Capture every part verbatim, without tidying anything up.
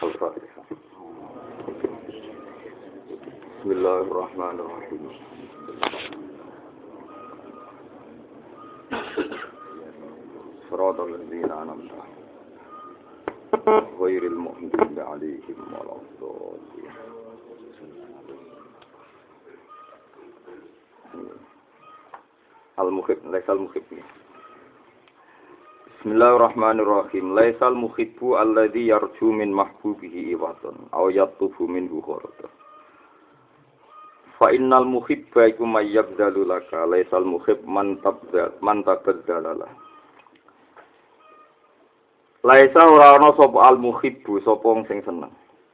Al-Fatihah. Bismillahirrahmanirrahim. Shiratal ladzina an'amta 'alaihim ghairil maghdubi 'alaihim waladdallin. Al-Muhib, laisal muhib. Bismillahirrahmanirrahim. Laisal muhibbu alladzi yarju min mahbubihi iwatan aw yatlubu minhu kharajan. Fa innal muhibba iku may yabdalu laka, laisal muhib man tabdal man tabdalala. Laisa ora ana sapa al muhibbu sapa wong sing seneng.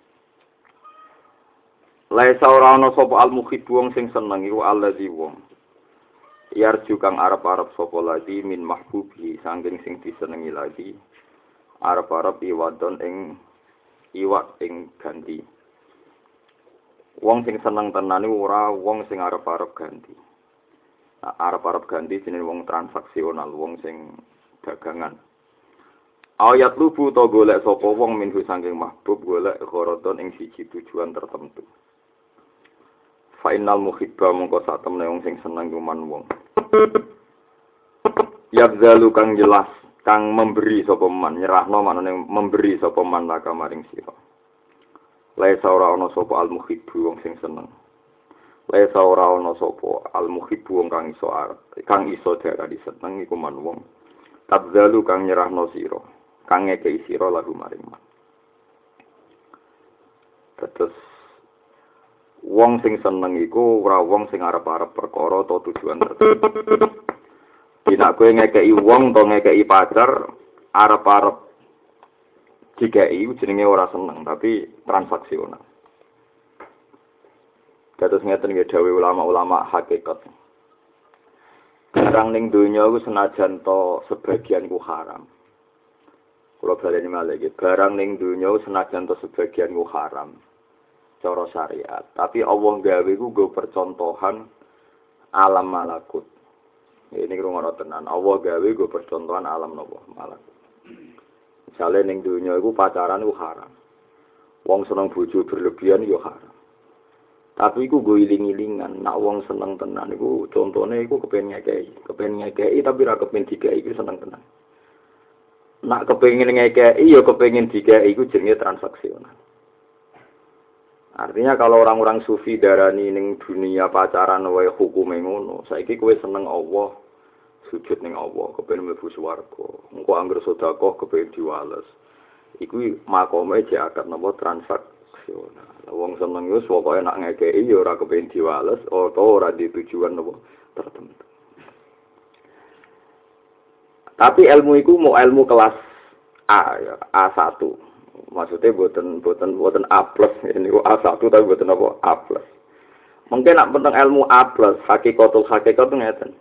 Laisa ora ana sapa al muhibbu wong sing seneng iku alladzi wong yarju kang arep-arep sapa lagi min mahbubi saking sing disenengi lagi arep-arep iwadon ing iwak ing ganti. Wong sing seneng tenan iku ora wong sing arep-arep ganti. Nah, arep-arep ganti jenenge wong transaksional, wong sing dagangan. Ayat lubu to golek sapa wong minhu saking mahbub golek gharadon ing siji tujuan tertentu. Fa innal muhibba mongko sak temne wong sing seneng kuman wong. Yabzalu kang jelas kang memberi sapa man nyerahno manane memberi sapa man laka maring sira. Laisa ora ana sapa al muhibbu wong sing seneng. Laisa ora ana sapa al muhibbu wong kang iso arep kang iso darani seneng iku man wong. Tabzalu kang nyerahno sira, kang ngekeki sira lagu maring man. Terus wong sing seneng iku ora wong sing arep-arep perkara atau tujuan tertentu. Dina kowe ngekeki wong to ngekeki pacar arep-arep dikeki jenenge ora seneng tapi transaksional. Kados ngeten nggih dawuh ulama-ulama hakikat. Barang ning donya iku senajan to sebagian ku haram. Kula baleni malih iki, barang ning donya senajan to sebagian ku haram. Cara syariat, tapi Allah gawe ku go percontohan alam malakut. Ini rungono tenan. Allah gawe go percontohan alam nopo malakut. Misale ning donya iku pacaran iku haram. Wong seneng bojo berlebihan yo haram. Tapi iku go iling-ilingan, nek wong seneng tenan iku contone iku kepen ngekeki, kepen ngekeki tapi ra kepen dikeki iku seneng tenan. Nek kepengin ngekeki yo kepengin dikeki iku jenenge transaksional. Artinya kalau orang-orang sufi darani ning dunia pacaran wae hukume ngono, saiki kowe seneng Allah, sujud ning Allah, kepengin mlebu swarga. Engko anggere sedekah kepengin diwales. Iku makome diakat napa transaksional. Wong seneng wis pokoke nak ngekeki ya ora kepengin diwales utawa ora di tujuan napa tertentu. Tapi ilmu iku mau ilmu kelas A ya, A satu. Maksudnya buatan buatan buatan A plus ini A satu tapi buatan apa A plus. Mungkin nak tentang ilmu A plus hakikatul hakikat itu ngeten.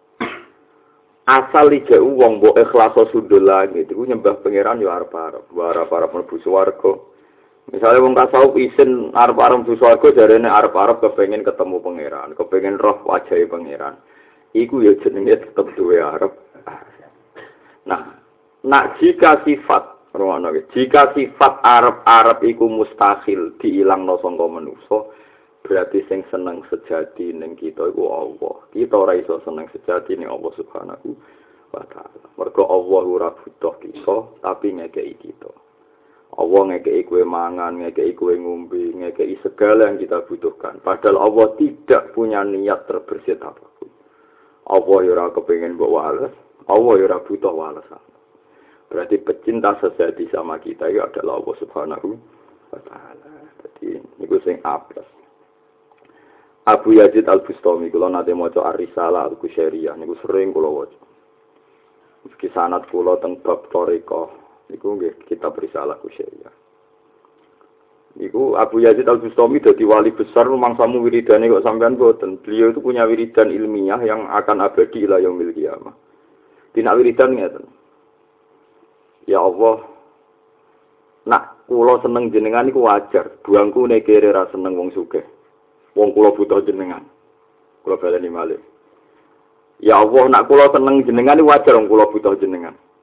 Asal ije uang bo ikhlas sudul lagi itu nyembah pangeran yo arep-arep, arep-arep mlebu swarga. Misalnya wong tasawuf isin arep-arep mlebu swarga jarene arep-arep kepengin ketemu pangeran, kepengin roh wajahe pangeran. Iku yo jenenge tetep duwe arep. Nah, nak jika sifat Rono, jika sifat Arab-Arab iku mustahil diilangno sangka manusa, berarti sing seneng sejati ning kita iku Allah. Kita ora iso seneng sejati ning Allah Subhanahu wa taala. Mergo Allah ora butuh kita, tapi ngekeki kita. Allah ngekeki kowe mangan, ngekeki kowe ngombe, ngekeki segala yang kita butuhkan. Padahal Allah tidak punya niat terbersit apapun. Allah ya ora kepengin mbok wales, Allah ya ora butuh walesan. Berarti pecinta sejati sama kita itu adalah Allah Subhanahu wa taala. Jadi niku sing A plus. Abu Yazid Al-Bustami kula nate maca Ar-Risalah Al-Qusyairiyah niku sering kula waca. Meski sanad kula teng bab thariqah niku nggih kitab Risalah Qusyairiyah. Niku Abu Yazid Al-Bustami dadi wali besar mangsamu wiridane kok sampean boten. Beliau itu punya wiridan ilmiah yang akan abadi ila yaumil qiyamah. Dina wiridan ngeten. Ya Allah, nak kula seneng jenengan iku wajar. Buangku nek kere ra seneng wong sugih. Wong kula butuh jenengan. Kula baleni malih. Ya Allah, nak kula seneng jenengan iku wajar wong kula butuh jenengan.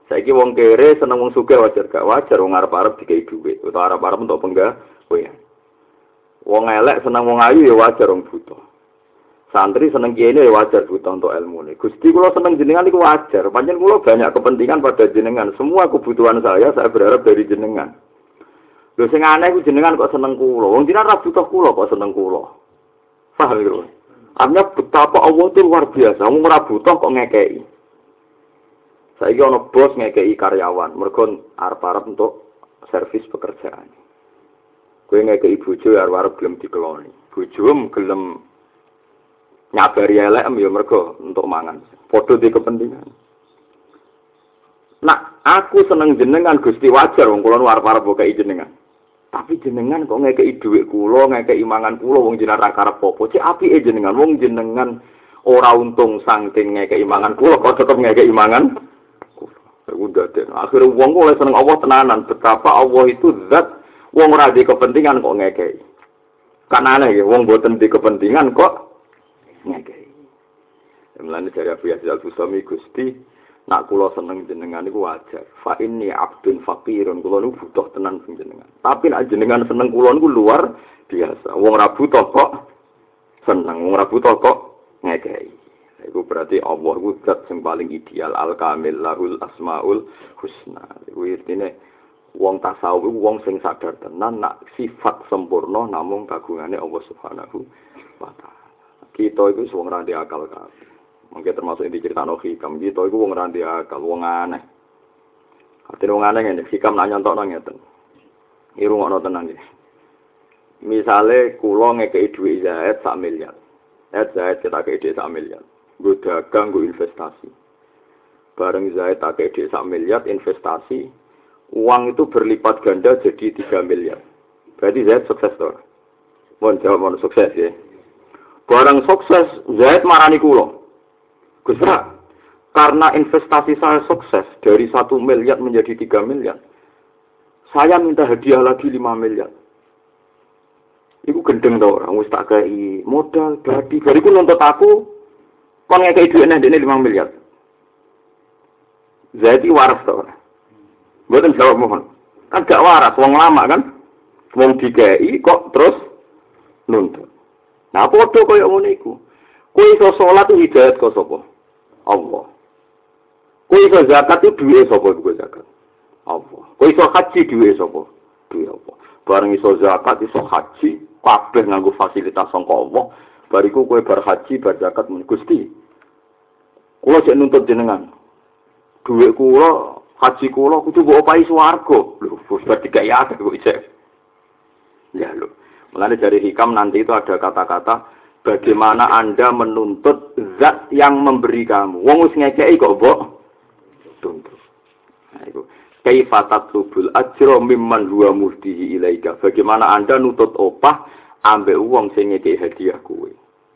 Saiki wong kere seneng wong sugih wajar gak wajar wong arep-arep dikai dhuwit utawa arep-arep untuk penggawean. Wong elek seneng wong ayu ya wajar wong buta. Santri seneng kene ya wajar buta untuk ilmune. Gusti kula seneng jenengan iku wajar. Pancen kula banyak kepentingan pada jenengan. Semua kebutuhan saya saya berharap dari jenengan. Lho sing aneh ku jenengan kok seneng kula. Wong jenengan ra butuh kula kok seneng kula. Paham lho. Artinya betapa Allah itu luar biasa. Wong ora butuh kok ngekeki. Saiki ana bos ngekeki karyawan, mergo arep-arep untuk servis pekerjaan. Kowe ngekeki bojo arep-arep gelem dikeloni. Bojomu gelem nyabari elek ya mergo untuk mangan. Padha di kepentingan. Nah, aku seneng jenengan Gusti wajar wong kula arep-arep ngekeki jenengan. Tapi jenengan kok ngekeki dhuwit kula, ngekeki mangan kula wong jenengan ra karep apa. Cek apike jenengan wong jenengan ora untung saking ngekeki mangan kula kok tetep ngekeki mangan. Udah deh. Akhirnya wong oleh seneng Allah tenanan. Betapa Allah itu zat wong ora di kepentingan kok ngekei. Kan aneh ya, wong boten di kepentingan kok ngekei. Mulane dari Abu Yazid Al-Bustami Gusti, nak kula seneng jenengan iku wajar. Fa inni abdun faqirun, kula niku butuh tenan sing jenengan. Tapi nek jenengan seneng kula niku luar biasa. Wong ora butuh kok seneng, wong ora butuh kok ngekei. Itu berarti Allah itu zat yang paling ideal, al-kamil, lahul asma'ul husna. Itu artinya, wong tasawuf itu wong sing sadar tenan, nak sifat sempurna namun kagungannya Allah subhanahu wa ta'ala. Kita itu wong ranti akal kabeh. Mungkin termasuk yang diceritakan Hikam, kita itu wong ranti akal, wong aneh. Artinya wong aneh ini, Hikam nak nyontok ngeten. Ini rumah tenan ini. Misalnya, kula ngekei duit Zaid sak miliar. Zaid Zaid kita kei duit sak miliar. Gue dagang, gue investasi. Bareng Zaid pakai duit sak miliar investasi, uang itu berlipat ganda jadi tiga miliar. Berarti Zaid sukses toh. Mohon jawab mohon sukses ya. Barang sukses, Zaid marani kulo. Gusra, karena investasi saya sukses dari satu miliar menjadi tiga miliar, saya minta hadiah lagi lima miliar. Iku gendeng tau orang, wis tak kei modal, badi, bariku nuntut aku. Kon ngekei duit nih, ini lima miliar. Zaid itu waras tau. Bukan jawab mohon. Kan gak waras, wong lama kan. Wong dikei kok terus nuntut. Nah, podo kaya ngono iku. Kowe iso salat itu hidayat kok sapa? Allah. Kowe iso zakat itu duwe sapa iku zakat? Allah. Kowe iso haji duwe sapa? Duwe Allah. Bareng iso zakat iso haji, kabeh nganggo fasilitas sangka Allah. Bariku kowe bar haji, bar zakat men Gusti. Kula sik nuntut jenengan. Dhuwit kula, haji kula kudu mbok opahi swarga. Lho, wis bar dikai akeh kok isih. Ya lho. Mulane dari Hikam nanti itu ada kata-kata bagaimana Anda menuntut zat yang memberi kamu. Wong wis ngekeki kok mbok tuntut. Nah iku kaifa tatlubul ajra mimman huwa muhdihi ilaika. Bagaimana Anda nutut opah ambek wong sing ngekeki hadiah kowe.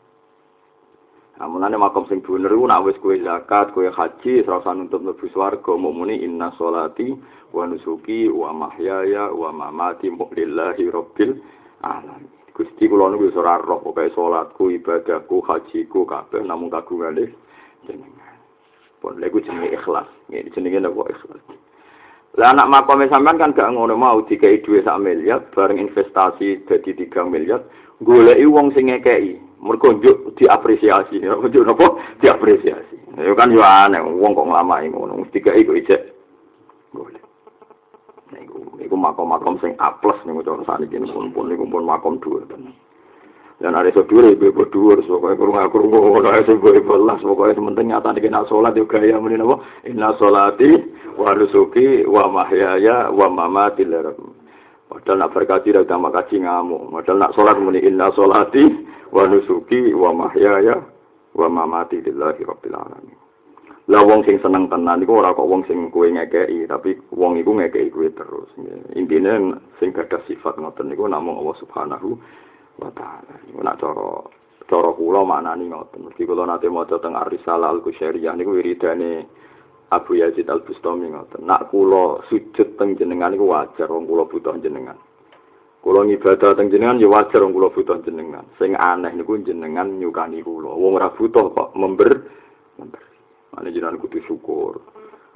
Nah, mulane makom sing bener iku nek wis kowe zakat, kowe haji, ora usah nuntut mlebu swarga, mukmuni inna sholati wa nusuki wa mahyaya wa mamati lillahi rabbil alamin. Gusti kula niku wis ora roh pokoke salatku, ibadahku, hajiku kabeh namung kagungane jenengan. Pun lha iku jenenge ikhlas. Ngene jenenge napa ikhlas. Lah anak makome sampean kan gak ngono mau dikai dhuwit sak miliar bareng investasi dadi tiga miliar, goleki wong sing ngekeki. Mergo njuk diapresiasi, njuk napa diapresiasi. Ya kan yo aneh wong kok nglamai ngono, mesti gak iku ijek. Golek. Niku niku makom-makom sing A plus niku cara saniki pun niku pun makom dhuwur tenan. Dan ada sedure ibu dhuwur pokoke kurung-kurung ngono ae sing gue belas pokoke sementing nyatane kena salat yo gaya muni napa inna sholati wa nusuki wa mahyaya wa mamati lillahi. Padahal nak berkaji dak tambah kaji ngamuk. Padahal nak salat muni inna sholati wa nusuki wa mahyaya wa mamati lillahi rabbil alamin. Lah wong sing seneng tenan iku ora kok wong sing kowe ngekeki, tapi wong iku ngekeki kowe terus. Intine sing gadah sifat ngoten niku namung Allah Subhanahu wa ta'ala. Iku nak cara cara kula maknani ngoten. Mesti kula nate maca teng Ar-Risalah Al-Qusyariyah niku wiridane Abu Yazid Al-Bustami ngoten. Nak kula sujud teng jenengan niku wajar wong kula butuh jenengan. Kula ngibadah teng jenengan ya wajar wong kula butuh jenengan. Sing aneh niku jenengan nyukani kula. Wong ora butuh kok member member. Ane jenengan kudu syukur.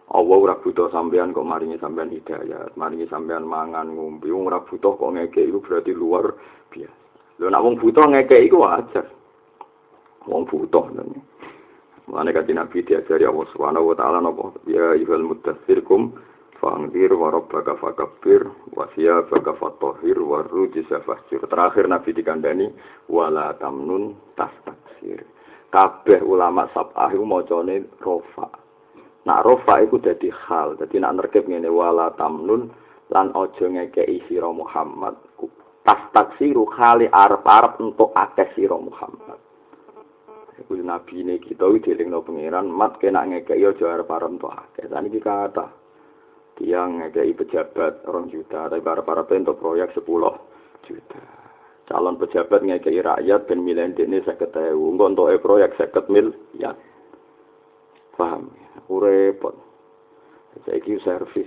Allah ora butuh sampean kok maringi sampean hidayah, maringi sampean mangan ngombe, wong ora butuh kok ngekeki iku berarti luar biasa. Lho nek wong butuh ngekeki iku wajar. Wong butuh lho. Mane kanjeng Nabi diajari Allah Subhanahu wa taala napa ya ayyuhal mudaththirkum fa'anzir wa rabbaka fakabbir wa siyabaka fatahhir wa rujza fahjur. Terakhir Nabi dikandani wala tamnun tastaksir. Kabeh ulama sab'ah iku macane rofa. Nak rofa iku dadi hal, dadi nak nerkep ngene wala tamnun lan aja ngekeki sira Muhammad. Tastaksiru khali arep-arep entuk akeh sira Muhammad. Iku nabi ne kita iki dilingno pangeran mat kena ngekeki aja arep-arep entuk akeh. Saniki kata tiang ngekeki pejabat orang juta, tapi arep-arep entuk proyek sepuluh juta. Calon pejabat ngekeki rakyat ben milih dene seket ewu, engko entuke proyek seket miliar. Paham? Repot. Saiki servis.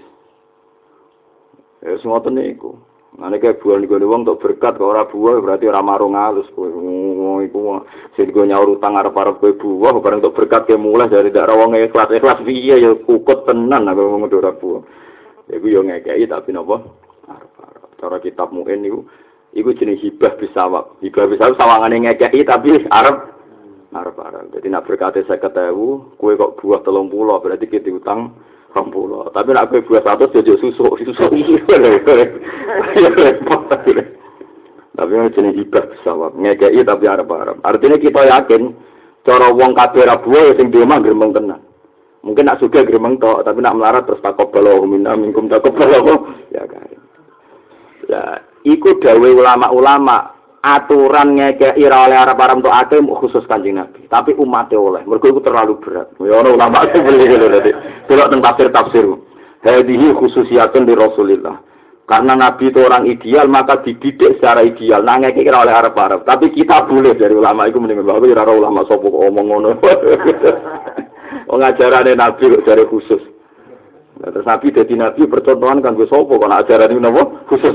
Ya semua niku. Nek kaya buah niku wong tok berkat kok ora buah berarti ora marung alus kowe. Wong iku sing go nyaur utang arep-arep kowe buah bareng tok berkat ke mulai dari dak wong ikhlas-ikhlas piye ya kukut tenan aku wong ora buah. Iku yo ngekeki tapi napa? Arep-arep. Cara kitab Mu'in niku iku jeneng hibah bisawab. Hibah bisawab sawangane ngekeki tapi arep arep-arep. Jadi nak berkate seket ewu, kowe kok buah telung puluh berarti kita utang rong puluh. Tapi nak kowe buah seratus jadi susuk, susuk iki. Tapi jenenge hibah sawab, ngekeki tapi arep-arep. Artinya kita yakin cara wong kabeh ra buah sing di omah gremeng tenan. Mungkin nak sugih gremeng tok, tapi nak melarat terus takobalo minna minkum takobalo ya kan. Ya, iku dawuh ulama-ulama aturan ngekeki ora oleh arep-arep entuk akeh khusus Kanjeng Nabi, tapi umate oleh. Mergo iku terlalu berat. Ya ono ulama sing beli lho dadi. Delok teng tafsir-tafsir. Hadhihi khususiyatun di Rasulillah. Karena Nabi itu orang ideal, maka dididik secara ideal. Nah ngekeki ora oleh arep-arep, tapi kita boleh dari ulama iku mending bae ora ulama sapa kok omong ngono. Wong ajarane Nabi kok jare khusus. Nah, terus Nabi dadi nabi percontohan kanggo sapa kok ajarane napa khusus.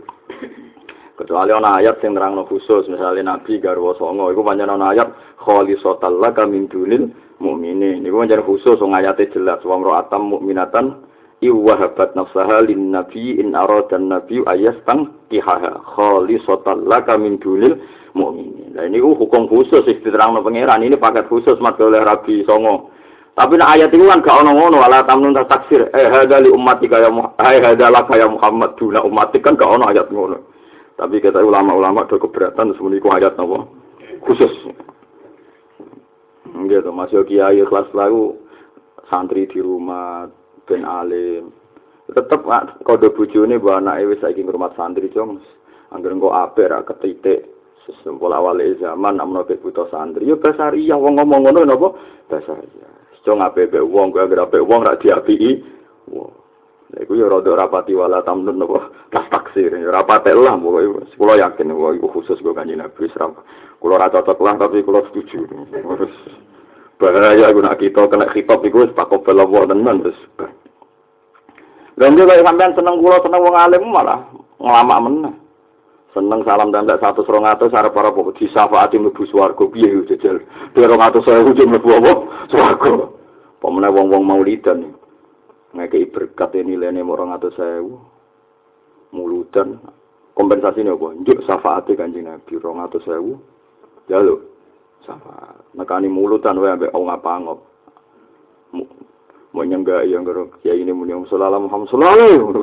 Kecuali ana ayat sing nerangno khusus, misalnya Nabi garwa songo, iku pancen ana ayat kholisotal laka min dunil mukminin. Niku pancen khusus wong ayate jelas wa ra'atam mukminatan iwahabat nafsaha lin nabi in aradan nabi ayastang kihaha kholisotal laka min dunil mukminin. Lah niku hukum khusus sing diterangno pangeran, ini paket khusus mat oleh Rabi songo. Tapi nek ayat iku kan gak ono ngono wala tamnun taksir. Eh hadali ummati kaya hai hadala kaya Muhammad duna ummati kan gak ono ayat ngono. Tapi kata ulama-ulama do keberatan semuanya ku ayat napa khusus. Nggih to Mas yo kiai kelas lalu santri di rumah ben alim. Tetep kode bojone mbok anake wis saiki ngurmat santri jong. Angger engko apik ra ketitik sesempul awal zaman amno buta santri. Yo basariah wong ngomong ngono napa basariah. Jong apik wong kok anggere apik wong ra diapiki. Wah. Iku ya rada rapati wala tamnun napa tas taksir ya rapate lah pokoke kula yakin kok iku khusus kok Kanjeng Nabi Islam. Kula ora cocok lah tapi kula setuju. Terus bahaya iku nek kita kena khitab iku wis pakobel Allah tenan terus. Lha nek kaya sampean seneng kula seneng wong alim malah nglamak meneh. Seneng salam tembak seratus dua ratus arep para kok disafaati mlebu swarga piye yo jejel. dua ratus ribu mlebu apa? Swarga. Pemene wong-wong maulidan. Ngekei berkat ini nilainya orang atau sewu mulutan kompensasi ini apa? Njuk syafaat Kanjeng Nabi orang atau sewu ya lho syafaat nekani mulutan wae ambek wong apangop mau nyenggak yang karo kiai ini muni sallallahu Muhammad sallallahu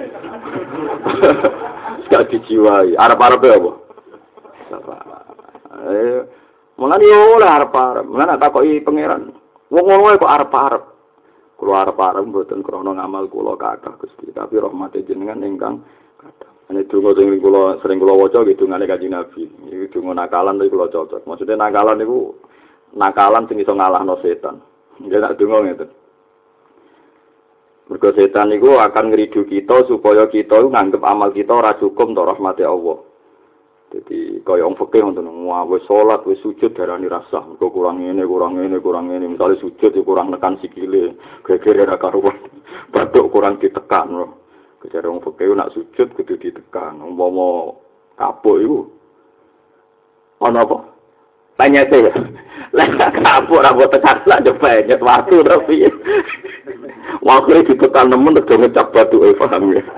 sekali dijiwai arep-arep apa? Syafaat eh mulane yo oleh arep-arep mulane takoki pangeran wong ngono kok arep-arep. Kula arep-arep mboten krana ngamal kula kathah Gusti, tapi rahmate jenengan ingkang kathah. Nek donga sing kula sering kula waca nggih dongane Kanjeng Nabi. Iki donga nakalan tapi kula cocok. Maksudnya nakalan niku nakalan sing iso ngalahno setan. Nggih tak donga ngeten. Mergo setan niku akan ngridu kita supaya kita nganggep amal kita ora cukup untuk rahmate Allah. Jadi kaya wong fikih ngoten, wis salat wis sujud darani rasah, mergo kurang ngene, kurang ngene, kurang ngene, misale sujud ya kurang nekan sikile, gegere ra karuan. Batuk kurang ditekan lho. Kejare wong fikih nak sujud kudu ditekan. Umpama kapuk iku ana apa? Penyete. Lah kapuk ora mbok tekan lah nyepet waktu tapi. Waktu ditekan nemen udah ngecap batu eh paham ya.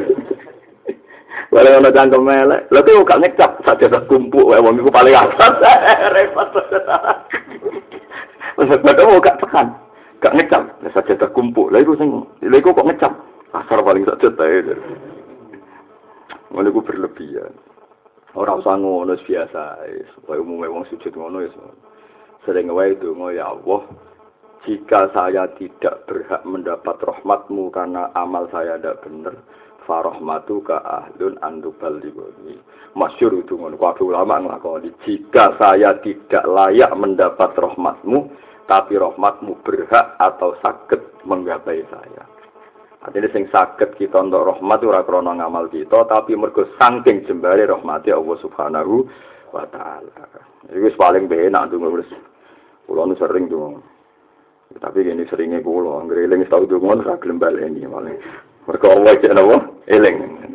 Walau ana cangkem elek, lha kok gak ngecap saja tak kumpul wae wong iku paling atas. Repot. Wes padha gak tekan. Gak ngecap, saja tak kumpul. Lha iku sing lha iku kok ngecap. Asar paling saja tae. Ngono iku berlebihan. Ora usah ngono biasa, supaya umume wong sujud ngono ya. Sering wae donga ya Allah, jika saya tidak berhak mendapat rahmat-Mu karena amal saya tidak benar, farahmatuka ahlun antubal liboni. Masyhur itu ngono, kabeh ulama nglakoni. Jika saya tidak layak mendapat rahmat-Mu, tapi rahmat-Mu berhak atau saged menggapai saya. Artinya sing saged kita untuk rahmat ora krana ngamal kita, tapi mergo saking jembare rahmati Allah Subhanahu wa taala. Iku wis paling benak ndonga wis. Kula nu sering ndonga. Tapi gini seringnya kula anggere eling tau ndonga ora gelem baleni malah. Mergo Allah jek napa? Eling.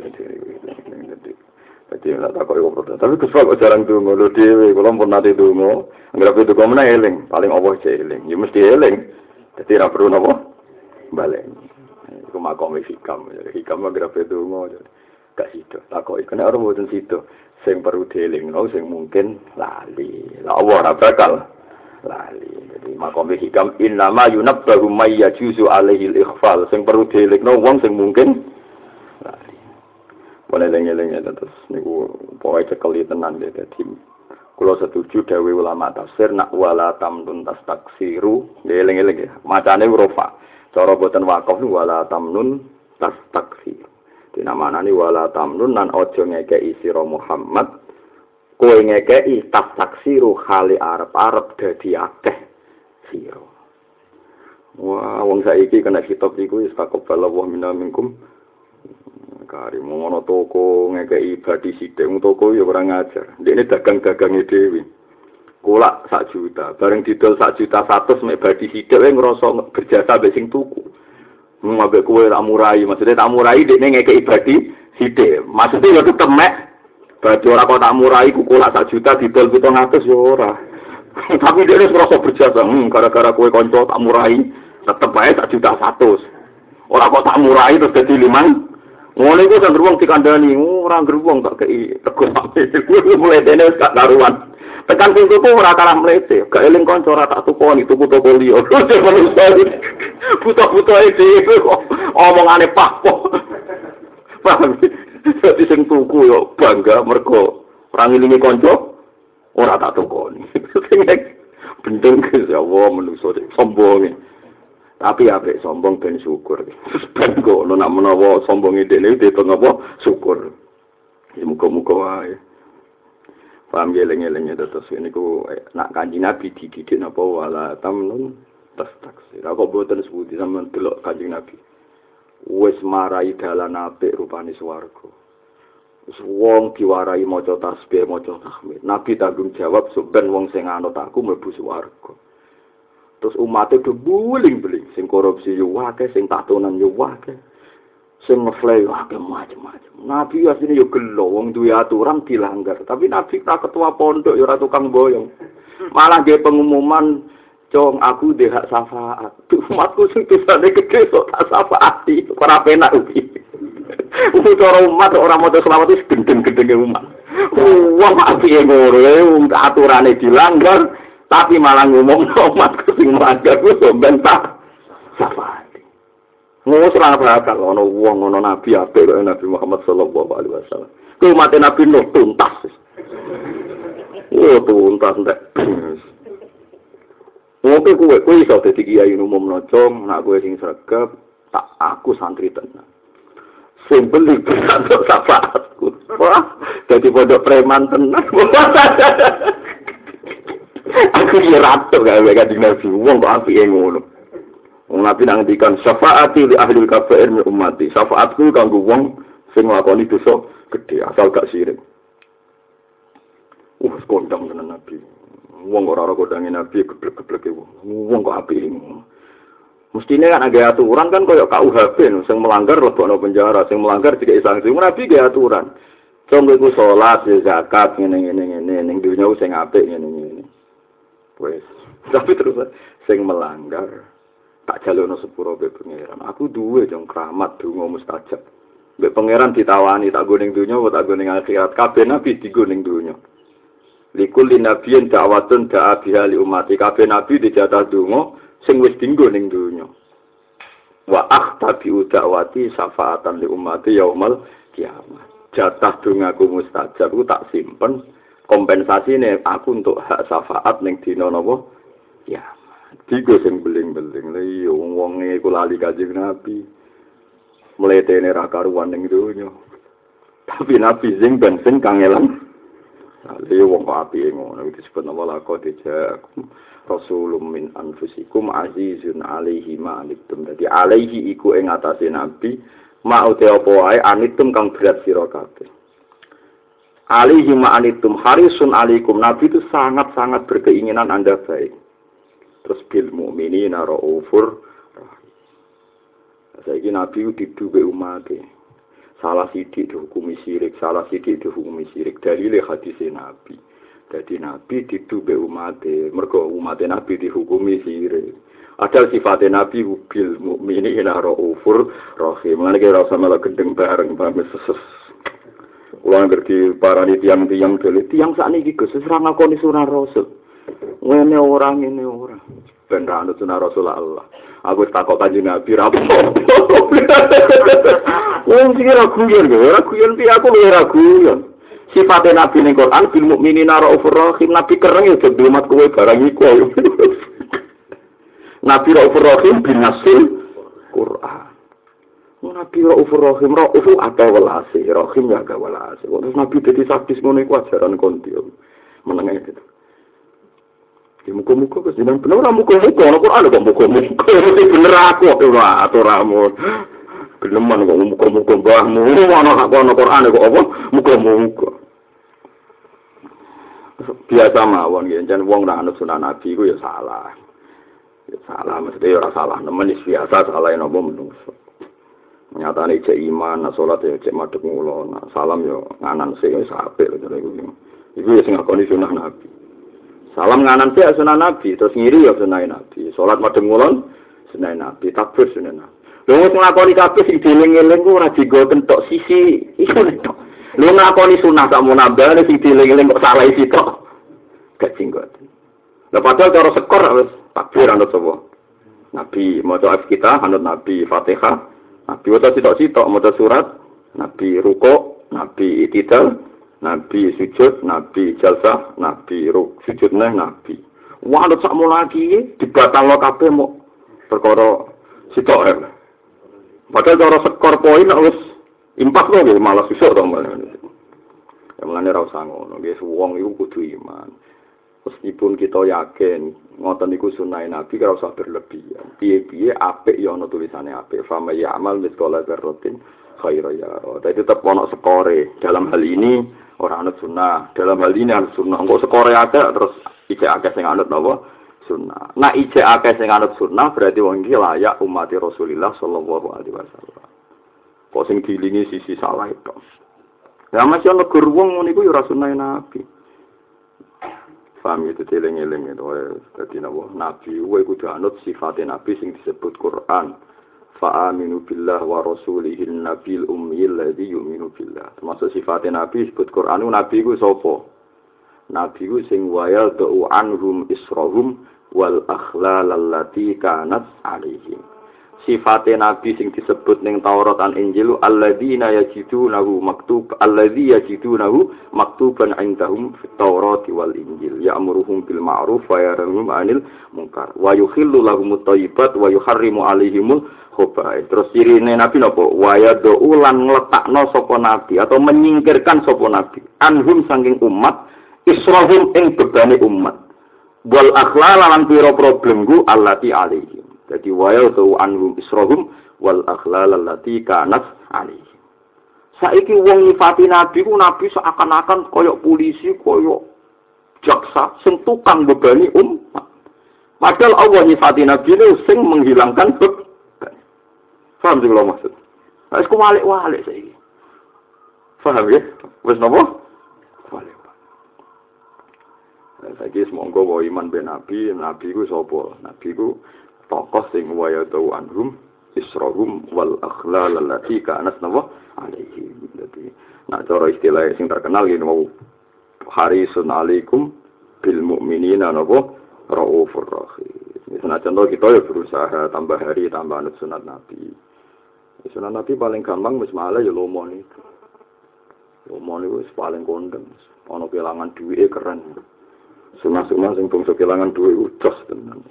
Dadi ora tak kok protes. Tapi kesel kok jarang ndonga lho dhewe, kula pun nate ndonga. Anggere itu kok meneh eling, paling Allah jek eling. Ya mesti eling. Dadi ora perlu napa? Baleni. Iku makom hikam, hikam agrafe donga gak sida. Takoki kena ora mboten sida. Sing perlu dielingno sing mungkin lali. La Allah ora bakal lali. Jadi makom hikam innama yunabbahu may yajuzu alaihi al-ikhfal. Sing perlu dielingno wong sing mungkin lali. Boleh eling-eling terus niku pokoke cekeli tenan dadi. Kula setuju dawuh ulama tafsir nak wala tamnun tastaksiru. Eling-eling ya. Macane rofa. Cara boten wakaf wala tamnun tastakfir. Dinamanani wala tamnun nan aja ngekeki sira Muhammad. Kowe ngekeki tastaksiru khali arep-arep dadi akeh sira. Wah, wong saiki kena kitab iku wis kakobal wa minna minkum. Karim ngono toko ngekeki badi sithik wong toko ya ora ngajar. Dekne dagang-dagange dhewe. Kulak sak juta, bareng didol sak juta satu mek badi sithik wae ngrasa berjasa mbek sing tuku. Mbek kowe tak murai, maksudnya tak murai dekne ngekeki badi sithik. Maksudnya ya tetep mek badi ora kok tak murai ku kulak sak juta didol pitung atus ya ora. Tapi dekne ngrasa berjasa, hmm, gara-gara kowe kanca tak murai, tetep wae sak juta satu. Ora kok tak murai terus dadi limang. Ngono iku sing wong dikandani, ora ngruwung tak kei rego sampe. Mulai dene wis gak karuan. Tekan sing tuku ora kalah mlete, gak eling kanca ora tak tukoni tuku toko liya. Buta-buta dhewe kok omongane papo. Paham? Dadi sing tuku yo bangga mergo ora ngilingi kanca ora tak tukoni. Sing bendeng ya Allah menungso sombong. Tapi apik sombong ben syukur. Ben kok nak menawa sombonge dene ditung apa syukur. Ya muga-muga wae. Paham geleng-gelengnya terus ini ku nak kanjeng Nabi dididik napa wala tamnun tastaksir. Aku boten sebuti sampean delok kanjeng Nabi. Wis marai dalan apik rupane swarga. Wis wong diwarai maca tasbih, maca tahmid. Nabi tanggung jawab ben wong sing anut aku mlebu swarga. Terus umatnya do buling-buling, sing korupsi yo akeh, sing tatonan yo akeh. Sing ngeflay akeh macam-macam. Nabi asline yo gelo wong duwe aturan dilanggar, tapi Nabi ra ketua pondok yo ora tukang boyong. Malah nggih pengumuman, "Cong, aku ndek hak syafaat." Umatku sing dosane gedhe kok tak syafaati, ora penak iki. Cara umat ora maca selawat wis gendeng-gendenge umat. Wong apike ngono, wong aturane dilanggar. Tapi malah ngomong umatku sing melanggar ku bentah syafaat. Ngono ora bakal ana wong ana nabi apik kaya Nabi Muhammad sallallahu alaihi wasallam. Ku umat Nabi Nuh tuntas. Oh tuntas ndak. Ngopo kowe kowe iso dadi kiai umum nocong, nak kowe sing sregep, tak aku santri tenan. Sing beli untuk syafaatku. Wah, dadi pondok preman tenan. Aku ya ratu gawe kanjeng Nabi wong kok apike ngono. Wong Nabi nang ngendikan syafaati li ahli kabair min ummati. Syafaatku kanggo wong sing nglakoni dosa gedhe asal gak sirik. Uh, kondang tenan Nabi. Wong ora ora kondange Nabi geblek-gebleke wong. Wong kok apike ngono. Mestine kan ada aturan kan koyo K U H P sing melanggar lebokno penjara, sing melanggar dikek sanksi. Nabi ge aturan. Contoh iku salat, zakat ngene-ngene ngene ning dunya sing apik ngene-ngene. Wes. Tapi terus sing melanggar tak jalukno sepuro be pangeran. Aku duwe jong keramat donga mustajab. Mbek pangeran ditawani tak go ning donya apa tak go ning akhirat. Kabeh nabi digo ning donya. Likul linabiyin da'watun da'a biha li umati. Kabeh nabi dijatah donga sing wis dinggo ning donya. Wa akhtabi da'wati syafaatan li umati yaumal kiamat. Jatah dongaku mustajab ku tak simpen kompensasine aku untuk hak syafaat ning dina napa kiamat. Digo sing beling-beling lha iya wong-wonge iku lali Kanjeng Nabi. Mletene ra karuan ning donya. Tapi nabi sing ben sing kangelan. Lha wong kok apike ngono iki disebut nama laqad ja'akum rasulun min anfusikum azizun 'alaihi ma anittum. Dadi alaihi iku ing atase nabi ma ute apa wae anittum kang berat sira kabeh. Alaihi ma anittum harisun 'alaikum. Nabi itu sangat-sangat berkeinginan Anda baik. Terus bil mukminina raufur rahim. Saiki nabi diduwe umate. Salah sidik dihukumi syirik, salah sidik dihukumi syirik. Dalile hadis Nabi. Jadi Nabi didube umate, mergo umate Nabi dihukumi syirik. Ada sifat Nabi bil mukminina raufur rahim. Lan kira usah malah gendeng bareng pamit seses. Kula ngerti parani tiang-tiang dele, tiang sakniki Gus wis ora ngakoni sunah Rasul. Ngene ora ngene ora. Ben ra anut sunah Rasul Allah. Aku takok Kanjeng Nabi ra apa. Wong sing ora guyon, ora guyon piye aku ora guyon. Sifate Nabi ning Quran bil mukminina raufur rahim. Nabi kereng ya dadi umat kowe barang iku. Nabi raufur rahim bin nasil Quran. Nabi raufur rahim, raufu atau welase, rahim ya ga welase. Terus Nabi dadi sadis ngono iku ajaran konti. Menenge gitu. Ya muka-muka kesenangan bener, muka-muka, ada Quran kok muka-muka, ini bener aku, ora aturamu, geleman kok muka-muka bahmu, mana aku ada Quran kok apa, muka-muka. Biasa mawon, jangan wong nak anut sunah Nabi, itu ya salah, ya salah, maksudnya ya salah, nemen biasa salah yang apa menungso. Nyatane cek iman, nak sholat ya cek madhep ngulon, nak salam ya nganan sing wis apik, itu ya sing ngakoni sunah Nabi. Salam nganan sih sunah Nabi, terus ngiri ya sunah Nabi. Salat madhep ngulon sunah Nabi, takbir sunah Nabi. Lha wis nglakoni kabeh sing dieling-eling ku ora digo kentok sisi iku tok. Lha nglakoni sunah sak munabah sing dieling-eling kok salah isi tok. Gak jenggot. Lah padahal cara sekor wis takbir anut sapa? Nabi maca kita anut Nabi, Fatihah, Nabi waca sitok-sitok maca surat, Nabi rukuk, Nabi itidal, Nabi sujud, Nabi jalsah, Nabi ruk sujud neh Nabi. Wah, ada sakmo lagi dibatalno kabeh mau perkara sitok ya. Padahal cara skor poin wis impak lho nggih malah susuk to malah. Ya mulane ra usah ngono, nggih wong iku kudu iman. Meskipun kita yakin ngoten niku sunah Nabi ora usah berlebihan. Piye-piye apik ya ana tulisane apik. Fa may ya'mal mithqala dzarratin khairan yara. Dadi tetep ana skore. Dalam hal ini orang anut sunnah, dalam hal ini anut sunnah. Kok sekore akeh terus ijek akeh sing anut napa? Sunnah. Nah ijek akeh sing anut sunnah berarti wong iki layak umat Rasulullah sallallahu alaihi wasallam. Kok sing dilingi sisi salah itu. Ya masih ana gur wong ngono iku ya ora sunah Nabi. Paham itu eling-eling itu dadi napa? Nabi kuwi kudu anut sifat Nabi sing disebut Quran. Fa'aminu billah wa rasulihil nabil ummiyil ladzi yu'minu billah. Termasuk sifat Nabi disebut Quran Nabi ku sapa? Nabi ku sing wayal do'u anhum israhum wal akhlal allati kanat alaihim. Sifat Nabi sing disebut ning Taurat lan Injil alladzina yajidunahu maktub alladzi yajidunahu maktuban indahum fit Taurat wal Injil ya'muruhum bil ma'ruf wa yanhahum 'anil munkar wa yuhillu lahumut thayyibat wa yuharrimu 'alaihimul khaba'ith. Terus cirine Nabi napa? Wa yad'u lan ngletakno sapa nabi atau menyingkirkan sapa nabi anhum saking umat israhum ing bebane umat wal akhlal lan pira problemku allati alaihim. Jadi wayal tu anhum israhum wal akhlal allati kanat alaihim. Saiki wong nyifati nabi ku nabi seakan-akan koyok polisi, koyok jaksa sing tukang bebani umat. Padahal Allah nyifati nabi itu sing menghilangkan beban. Paham sih kalau maksud? Wis ku walik-walik saiki. Paham ya? Wis napa? Walik. Saiki semonggo wa iman ben nabi, nabi ku sapa? Nabi ku tokoh sing waya tau anhum israhum wal akhlal allati kanat nawa alaihi. Dadi nek cara istilah sing terkenal ngene wau harisun alaikum bil mukminina napa raufur rahim. Misalnya contoh kita ya berusaha tambah hari tambah anut sunat Nabi. Sunat Nabi paling gampang wis malah ya lomo niku. Lomo niku wis paling kondang. Ana kelangan duwike keren. Sunah-sunah sing bangsa kelangan duwe ucos tenan.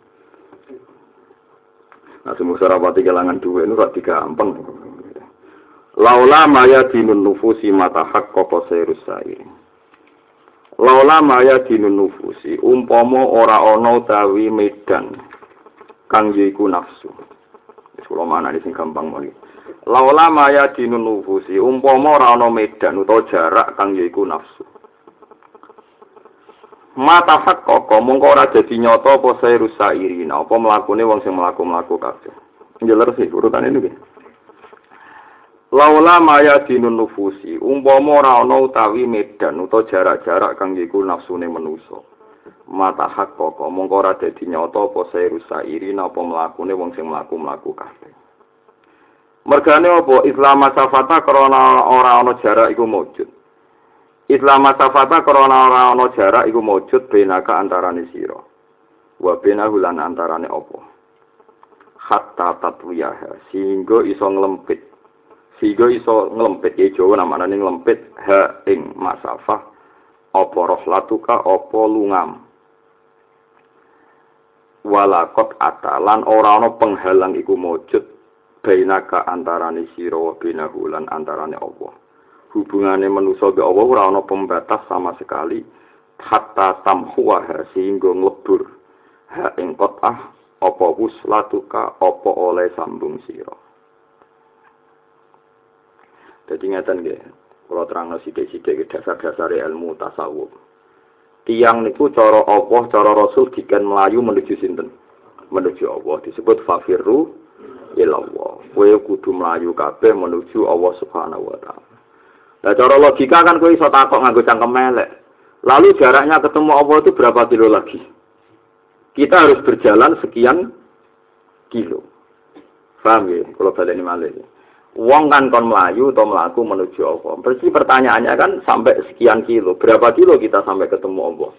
Nah, semua sarapati kelangan duwe niku ra digampang. Laula maya dinun nufusi mata hak koko serusai. Laula maya dinun nufusi umpama ora ana utawi medan kang yiku nafsu. Wis kula manani sing gampang moni. Laula maya dinun nufusi umpama ora ana medan utawa jarak kang yiku nafsu. Mata hak koko mongko ora dadi nyata apa serusairin apa mlakune wong sing mlaku-mlaku kabeh. Njeler sih urutane niku. Laula maya dinun nufusi umpama ora ana utawi medan utawa jarak-jarak kang iku nafsune manusa mata hak kok mongko ora dadi nyata apa serusairi napa mlakune wong sing mlaku-mlaku kabeh mergane apa Islam masafata krana ora ana jarak iku mujud Islam masafata krana ora ana jarak iku mujud benaka antarane sira wa benahu lan antarane apa hatta tatwiyah sehingga iso nglempit sehingga iso nglempit ya Jawa namane nglempit ha ing masafah apa rohlatuka apa lungam walakot atalan ora ana penghalang iku mujud bainaka antarane sira wa binahu lan antarane Allah hubungane manusa be Allah ora ana pembatas sama sekali hatta tamhuwa sehingga nglebur ha ing qotah apa wuslatuka apa oleh sambung sira. Jadi ngeten nggih, kula terangno sithik-sithik dasar-dasar ilmu tasawuf. Tiyang niku cara Allah, cara Rasul diken melayu menuju sinten? Menuju Allah disebut fafirru ilallah. Kowe kudu melayu kabeh menuju Allah Subhanahu wa taala. Lah cara logika kan kowe iso takok nganggo cangkem elek. Lalu jaraknya ketemu Allah itu berapa kilo lagi? Kita harus berjalan sekian kilo. Paham ya? Kalau baleni malih. Wong kan kon melayu atau melaku menuju Allah. Berarti pertanyaannya kan sampai sekian kilo. Berapa kilo kita sampai ketemu Allah?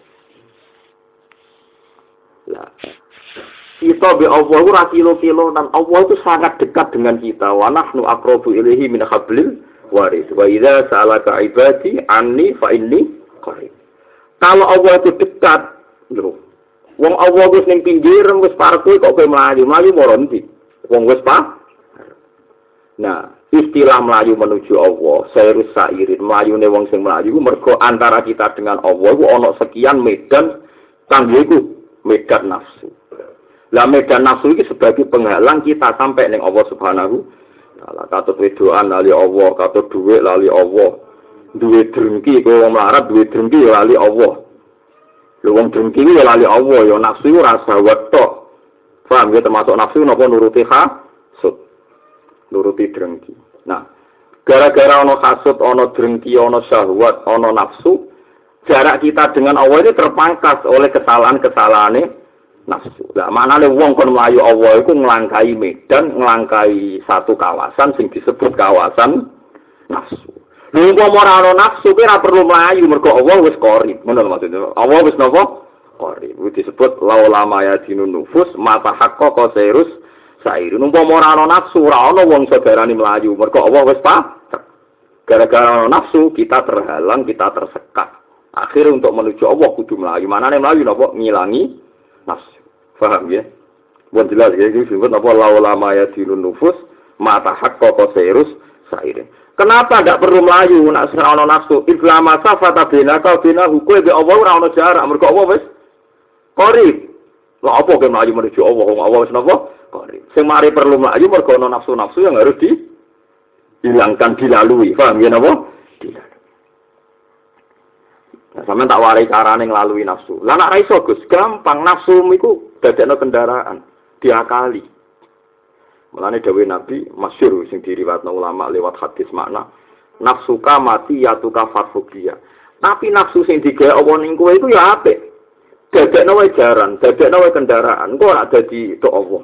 Lah, kita be Allah ora kilo-kilo dan Allah itu sangat dekat dengan kita. Wa nahnu aqrabu ilaihi min hablil warid. Wa idza sa'alaka ibadi anni fa inni qarib. Kalau Allah itu dekat, lho. Wong Allah wis ning pinggir wis parek kok kowe mlayu, mlayu moro ndi? Wong wis pa. Nah, istilah melayu menuju Allah, sairus sairin, melayune wong sing melayu mergo antara kita dengan Allah iku ana sekian medan kanggo iku medan nafsu. Lah medan nafsu iki sebagai penghalang kita sampai ning Allah Subhanahu taala. Katut wedoan lali Allah, katut dhuwit lali Allah. Duwe drengki kowe wong melarat duwe drengki lali Allah. Lho wong drengki ya lali Allah, ya nafsu ora sawet tok. Paham ya termasuk nafsu napa nuruti hasud. Nuruti drengki. Nah, gara-gara ana hasud, ana drengki, ana syahwat, ana nafsu, jarak kita dengan Allah ini terpangkas oleh kesalahan-kesalahane nafsu. Lah maknane wong kon mlayu Allah iku nglangkai medan, nglangkai satu kawasan sing disebut kawasan nafsu. Lha kok ora ana nafsu ki ora perlu mlayu mergo Allah wis qarib. Ngono lho maksudnya. Allah wis napa? Qarib. Iki disebut laula maya dinun nufus mata haqqqa sairus sair. Umpama ora ana nafsu, ora ana wong saudarane mlayu mergo Allah wis pa. Gara-gara ana nafsu kita terhalang, kita tersekat. Akhirnya untuk menuju Allah kudu mlayu. Manane mlayu napa? Ngilangi nafsu. Paham ya? Buat jelas ya, ini disebut apa laula maya dinun nufus mata haqqqa sairus sair. Kenapa tidak perlu melayu nak ora ana nafsu? Iflama safata binaka binahu kowe be Allah ora ana jarak mergo Allah wis qarib. Lah apa kowe melayu menuju Allah? Wong Allah wis napa? Qarib. Sing mari perlu melayu mergo ana nafsu-nafsu yang harus dihilangkan, dilalui. Paham ya napa? Dilalui. Nah, sampeyan tak warai carane nglalui nafsu. Lah nek ra iso Gus, gampang nafsu iku dadekno kendaraan, diakali. Mulane dawuh Nabi masyhur sing diriwayatno ulama lewat hadis makna nafsuka mati yatuka farfukia. Tapi nafsu sing digawe apa ning kowe iku ya apik. Dadekno wae jaran, dadekno wae kendaraan, kok ora dadi tok Allah.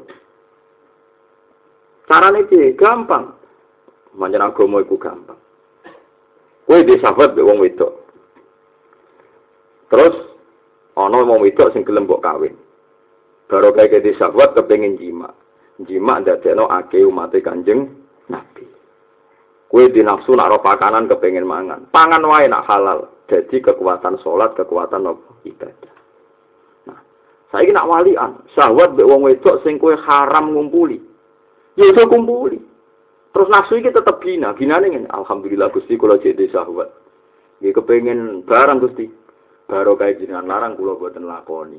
Carane piye? Gampang. Manjen agama iku gampang. Kowe di sahabat mbek wong wedok. Terus ana wong wedok sing gelem mbok kawin. Baru kayak di sahabat kepengin jima. Jima dadekno akeh umat Kanjeng Nabi. Kowe di nafsu nak ro pakanan kepengin mangan. Pangan wae nak halal. Jadi kekuatan salat, kekuatan ibadah. Saiki nak walian, syahwat mbek wong wedok sing kowe haram ngumpuli. Ya iso kumpuli. Terus nafsu iki tetep gina, ginane ngene. Alhamdulillah Gusti kula jadi syahwat. Nggih kepengin barang Gusti. Baro kae jenengan larang kula boten lakoni.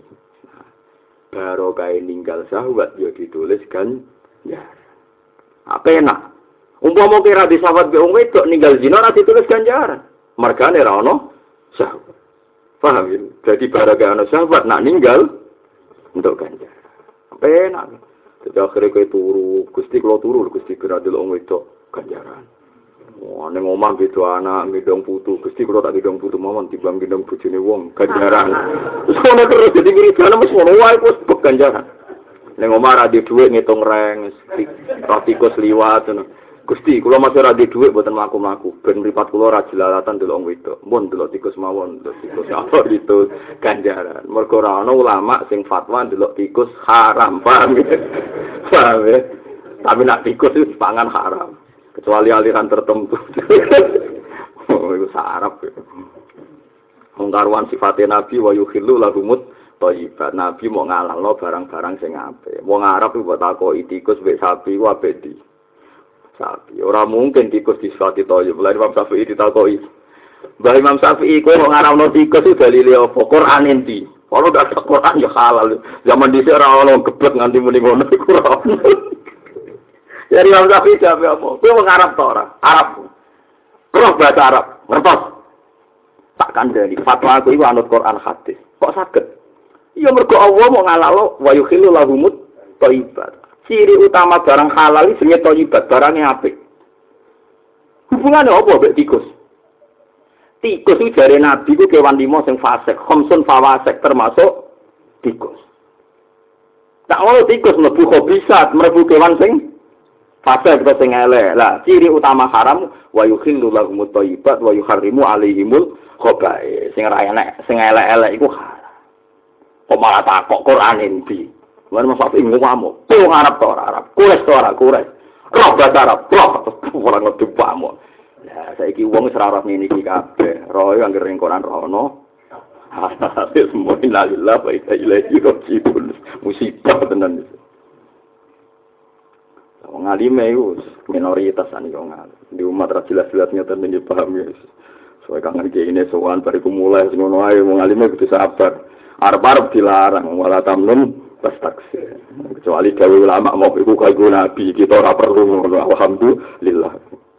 Baro kae ninggal syahwat ya ditulis kan ya. Apa enak? Umpama kira di syahwat mbek wong wedok ninggal zina ora ditulis ganjaran. Mergane ra ono syahwat. Paham ya? Jadi baro kae ono syahwat nak ninggal untuk ganjar. Sampai enak. Jadi akhirnya kayak turu. Gusti kalau turu, Gusti kira dulu orang itu ganjaran. Wah, neng omah gitu anak, ngidong putu. Gusti kalau tak ngidong putu, mawon timbang ngidong bujune wong, ganjaran. Terus kalau terus jadi ngidong, mas ngono wae pos ganjaran. Neng omah ada duit ngitung reng, rapikus liwat. Gusti, kalau masih ada duit buatan mlaku-mlaku, ben mripat kula ora jelalatan delok wong wedok. Mun delok tikus mawon, delok tikus apa gitu ganjaran. Mergo ora ana ulama sing fatwa delok tikus haram, paham ya? Paham ya? Tapi nak tikus itu pangan haram, kecuali aliran tertentu. Oh, itu sarap ya. Mengkaruan sifatnya Nabi wa yukhillu lahumut thayyibat. Nabi mau ngalalno barang-barang sing apik. Wong Arab iku mbok takoki tikus mbek sapi ku apik di sapi. Ora mungkin tikus disifati thayyib. Lah Imam Syafi'i ditakoki. Mbah Imam Syafi'i kowe kok ngaramno tikus itu dalile apa? Quran endi? Kalau dak Quran ya halal. Zaman dhisik ora ono geblek nganti muni ngono iku ora ono. Jadi Imam Syafi'i jawab apa? Kowe wong Arab ta ora? Arab. Roh bahasa Arab. Ngertos? Tak kandhani. Fatwa aku iku anut Quran hadis. Kok saged? Iya mergo Allah mau ngalalo wa yukhillu lahumut thayyibat. Ciri utama barang halal iki jenenge thayyibat, barangnya apik. Hubungane apa mbek tikus? Tikus itu jare Nabi ku kewan lima sing fasik, khamsun fawasik termasuk tikus. Tak ngono tikus mlebu khabisat, mlebu kewan sing fasik atau sing elek. Lah, ciri utama haram wa yukhillu lahumut thayyibat wa yuharrimu alaihimul khaba'is. Sing ora enek, sing elek-elek iku haram. Kok malah takok Quran endi? Lan Mas Safi ngomong, "Kok Arab to ora Arab? Kures to ora kures?" Roh bahasa Arab, roh ora ngerti pamo. Lah saiki wong wis ora roh ngene iki kabeh. Roh yo anggere ning Quran rono. Semua innalillahi wa inna ilaihi raji'un. Musibah tenan. Wong alim iku minoritas ane wong alim. Di umat ra jelas-jelas nyata ben paham ya. Soale kangen iki ini sowan bariku mulai sing ngono ae wong alim kudu sabar. Arep-arep dilarang wala tamnun pas taksir. Kecuali gawe ulama mau iku kanggo nabi, kita ora perlu ngono. Alhamdulillah.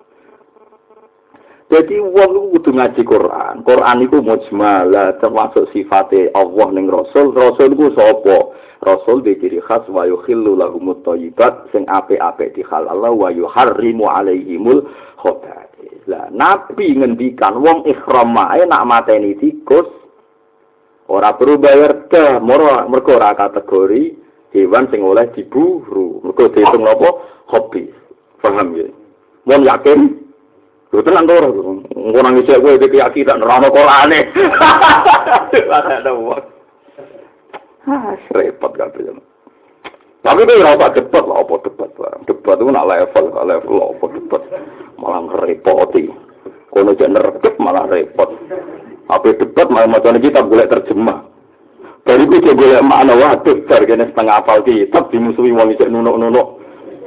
Jadi wong iku kudu ngaji Quran. Quran iku mujmal, termasuk sifate Allah ning Rasul. Rasul iku sapa? Rasul diciri khas wa yukhillu lahumut thayyibat sing apik-apik dihalal wa yuharrimu alaihimul khaba'is. Lah nabi ngendikan wong ihram ae nak mateni tikus ora perlu bayar dah, mergo ora kategori hewan sing oleh diburu. Mergo diitung napa? Hobi. Paham ya? Mun yakin? Lho tenan to ora? Engko nang isih kowe iki keyakinan ora ono Qur'ane. Ada wong. Ah, repot kabeh. Tapi kowe ora usah debat lho, apa debat barang. Debat itu nak level, gak level apa debat. Malah ngerepoti. Kono jek nerep malah repot. Apa debat malah macam kitab golek terjemah. Dari itu dia golek makna waduh, jargane setengah hafal kitab dimusuhi wong isih nunuk-nunuk.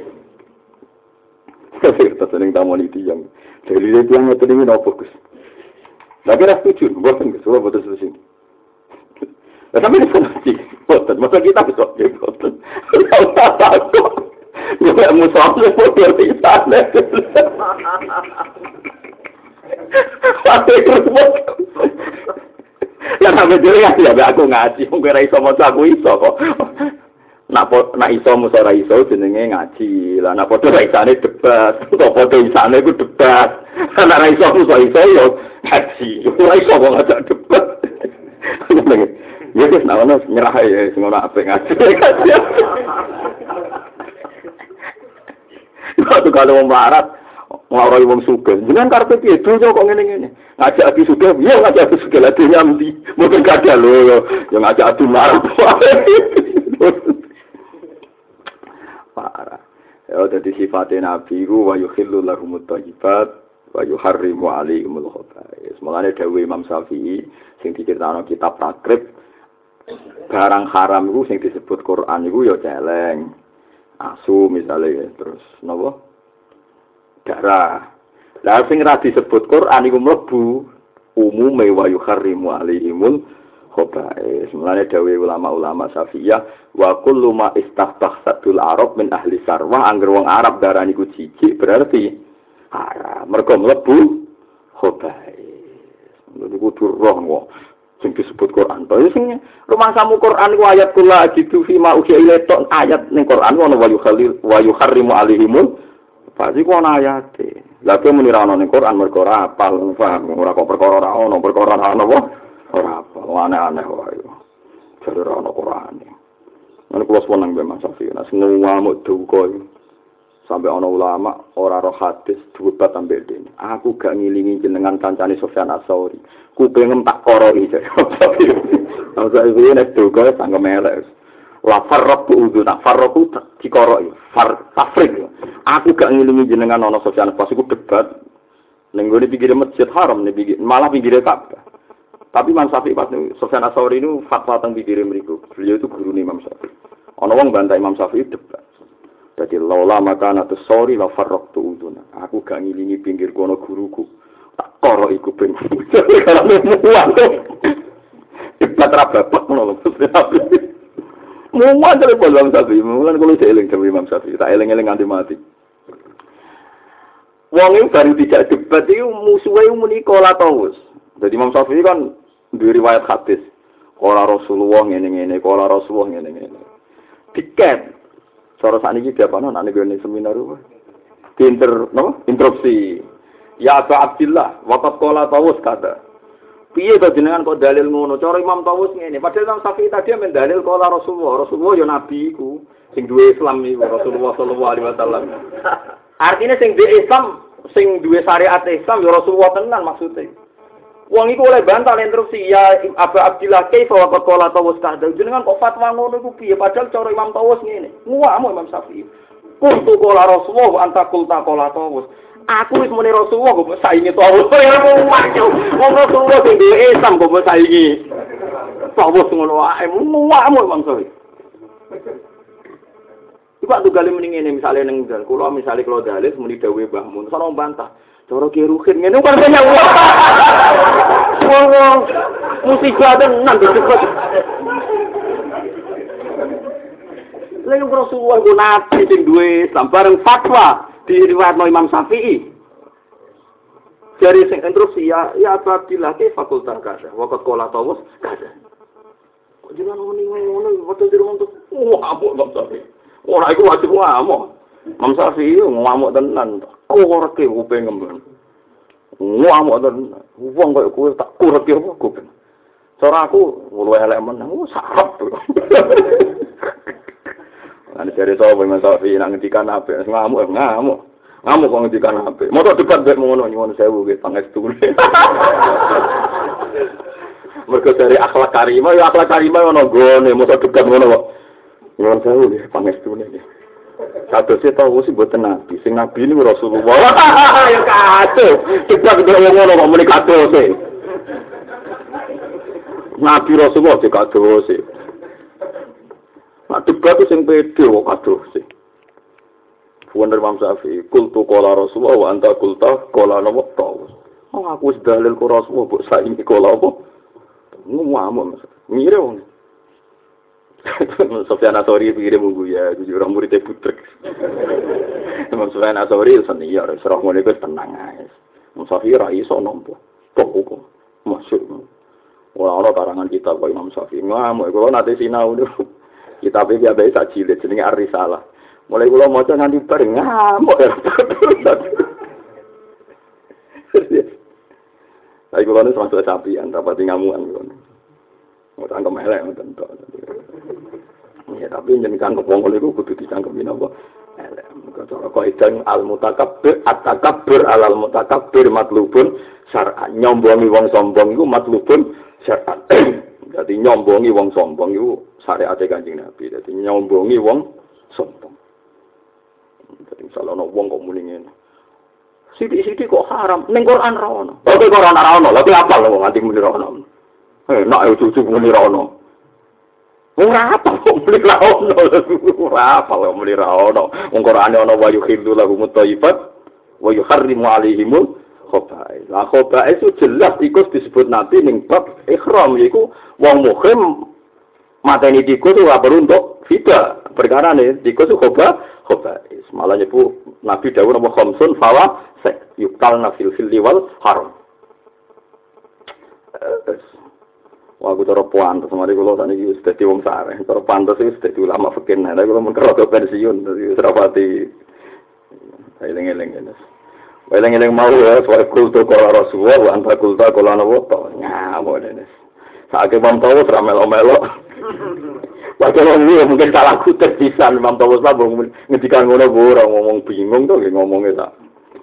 Kita sering tamu itu yang dari itu yang itu ini no fokus. Lagi ras tujuh, bukan kesuara betul sesuatu. Nah, tapi ini sih, betul. Masa kita bisa betul. Kalau tak tahu, ya musuh betul di sana. Pasti terus lah sampe dhewe ya aku ngaji, wong ora iso maca aku iso kok. Nak nak iso musa ora iso jenenge ngaji. Lah nak padha isane debat, kok padha isane ku debat. Nak ora iso musa iso yo ngaji. Ora iso kok ngajak debat. Ya wis naono nyerah ya sing ora apik ngaji. Waktu kalau wong melarat ngawrai wong sugih, jenengan karepe piye donya kok ngene-ngene. Ngajak ati sugih, ya ngajak ati sugih lha nyambi. Mboten kadal lho ya ngajak ati melarat. Parah. Ya dadi sifate nabi ku wa yukhillu lahumut thayyibat wa yuharrimu 'alaihimul khaba'is. Mulane dawuh Imam Syafi'i sing diceritakno kitab Takrib, barang haram iku sing disebut Quran iku ya celeng. Asu misalnya terus napa? Darah. Lah sing ra disebut Quran iku mlebu umume wa yuharrimu 'alaihimul khaba'is. Mulane dawuh ulama-ulama Syafi'iyah wa kullu ma istahbahatul arab min ahli sarwa angger wong Arab darani ku jijik berarti haram. Mergo mlebu khaba'is. Niku durung kok sing disebut Quran. Tapi sing rumangsamu Quran ku ayat kula gitu fi ma uhi ilatok ayat ning Quran ono wa yukhalil wa yuharrimu alaihimul pasti ku ana ayate. Lah kowe muni ra ono ning Quran mergo ora apal paham ora kok perkara ora ono perkara ora ono apa ora apal aneh-aneh wae. Jare ora ono Quran. Ana kula seneng be Mas Safi nek ngamuk duka sampai ana ulama ora roh hadis debat ambek dene. Aku gak ngilingi jenengan kancane Sufyan Ats-Tsauri. Ku pengen tak koroi. Ora iki nek duka sangem elek. La farraqu uduna farraqu dikoroi. Far tafrik. Aku gak ngilingi jenengan ana Sufyan pas iku debat ning gone pinggir Masjid Haram ning pinggir malah pinggir Ka'bah. Tapi Imam Syafi'i pas Sufyan Ats-Tsauri itu fatwa teng pinggir mriku. Beliau itu guru Imam Syafi'i. Ana wong bantah Imam Syafi'i debat. Jadi laula makana tsori la farraqtu uduna. Aku gak ngilingi pinggir kono guruku. Tak koro iku ben. Karena muat. Debat ra bapak ngono. Muat dari Imam Syafi'i. Mulan kulo eling dewe Imam Syafi'i. Tak eling-eling nganti mati. Wong iki baru tidak debat iki musuhe muni kala tawus. Jadi Imam Syafi'i kan duwe riwayat hadis. Kala Rasulullah ngene-ngene, kala Rasulullah ngene-ngene. Tiket cara sakniki diapano nek ngene seminar apa? Pinter, no? Interupsi. Ya Abu Abdillah, waqat qala Tawus kata. Piye to jenengan kok dalil ngono? Cara Imam Tawus ngene. Padahal Imam Syafi'i tadi men dalil qala Rasulullah. Rasulullah ya nabi iku sing duwe Islam iku Rasulullah sallallahu alaihi wasallam. Artinya sing duwe Islam, sing duwe syariat Islam ya Rasulullah tenan maksudnya. Wong iku oleh bantah interupsi ya Abu Abdillah kaifa waqat qala Tawus kata. Jenengan kok fatwa ngono iku piye? Padahal cara Imam Tawus ngene. Nguwamu Imam Syafi'i. Kuntu qala Rasulullah anta qulta qala Tawus. Aku wis muni Rasulullah kok saingi Tawus. Ya maju. Wong Rasulullah sing duwe Islam kok saingi. Tawus ngono wae. Nguwamu Imam Syafi'i. Iku aku gale mending ngene misale ning dal. Kula misale kula dalil muni dawuhe Mbah Mun. Sono bantah. Cara ki ruhin ngene kan banyak wong. Wong musibah tenan cepet. Lha Rasulullah ku nabi sing duwe sambareng fatwa diriwayatno Imam Syafi'i. Dari sing instruksi ya ya Abdillah ke fakultas kada. Waqat qala Tawus kada. Kok jenengan ngene ngono foto di rumah tuh. Wah, apa Imam Syafi'i. Ora iku wajib ngamuk. Imam Syafi'i ngamuk tenan. Kureke kuping ngembang. Ngamuk tenan. Wong kaya kowe tak kureke apa kuping. Cara aku luwih elek meneh, sarep. Ana jare to Imam Syafi'i nang ngendikan apik ngamuk ngamuk. Ngamuk kok ngendikan apik. Moto debat mek ngono nyuwun sewu nggih pangestu. Mergo dari akhlak karimah ya akhlak karimah ono gone moto debat ngono kok. Nyuwun sewu nggih pangestune nggih. Kadose tau sing boten nabi, sing nabi niku Rasulullah. Ya kacau. Debat ngono kok muni kadose. Nabi Rasulullah sing kadose. Nah, debat sing pede kok kadose. Wonder Imam Syafi'i, kultu qala Rasulullah wa anta qulta qala nabi Tawus. Oh aku wis dalil ku Rasulullah kok saiki qala apa? Ngomong mire wong. Sufyan Ats-Tsauri pikire munggu ya, jujur orang muridnya butrek. Imam Sufyan Ats-Tsauri seni ya, serah ngene wis tenang ae. Imam Syafi'i ra iso nampa. Kok kok masuk. Ora ana karangan kitab kok Imam Syafi'i. Ngamuk kula nate sinau niku. Kitab iki biasa sak jilid jenenge Ar-Risalah. Mulai kula maca nganti bareng ngamuk. Tapi kula nu sampe sapian, rapati ngamukan kula. Cangkem elek ngoten tok. Ya tapi jenengan kepong niku kudu dicangkemi napa? Elek. Cara kaidah al-mutakabbir at-takabbur alal mutakabbir matlubun syar'an. Nyombongi wong sombong iku matlubun syar'an. Dadi nyombongi wong sombong iku syariate Kanjeng Nabi. Dadi nyombongi wong sombong. Dadi misalnya ana wong kok muni ngene. Sithik-sithik kok haram, ning Quran ra ono. Oke Quran ra ono, lha apa lho nganti muni ra ono. Eh, nak yo cucu muni ra ono. Ora apa kok muni ra ono. Ora apa kok muni ra ono. Wong Qur'ane ana wa yuhillu lahum at-thayyibat wa yuharrimu 'alaihimul khaba'is. Lah khaba'is itu jelas iku disebut Nabi ning bab ihram yaiku wong muhrim mateni tikus ora perlu untuk fida. Perkara ne tikus khoba khaba'is. Malah nyepu Nabi dawuh napa khamsun fawa yukal nafil fil wal haram. Wah, aku cara pantes mari kula sakniki wis dadi wong sareh. Cara pantes wis dadi ulama fikih. Nek kula mun kerja pensiun dadi serapati. Eling-eling ngene. Eling-eling mau ya soal kultur kala Rasulullah wa anta kultur kala nabi to. Nyamuk dene. Saiki wong tahu ora melo-melo. Padahal mungkin salah kutek pisan Imam Tawus lah ngendikan ngono ora ngomong bingung to nggih ngomongnya sak.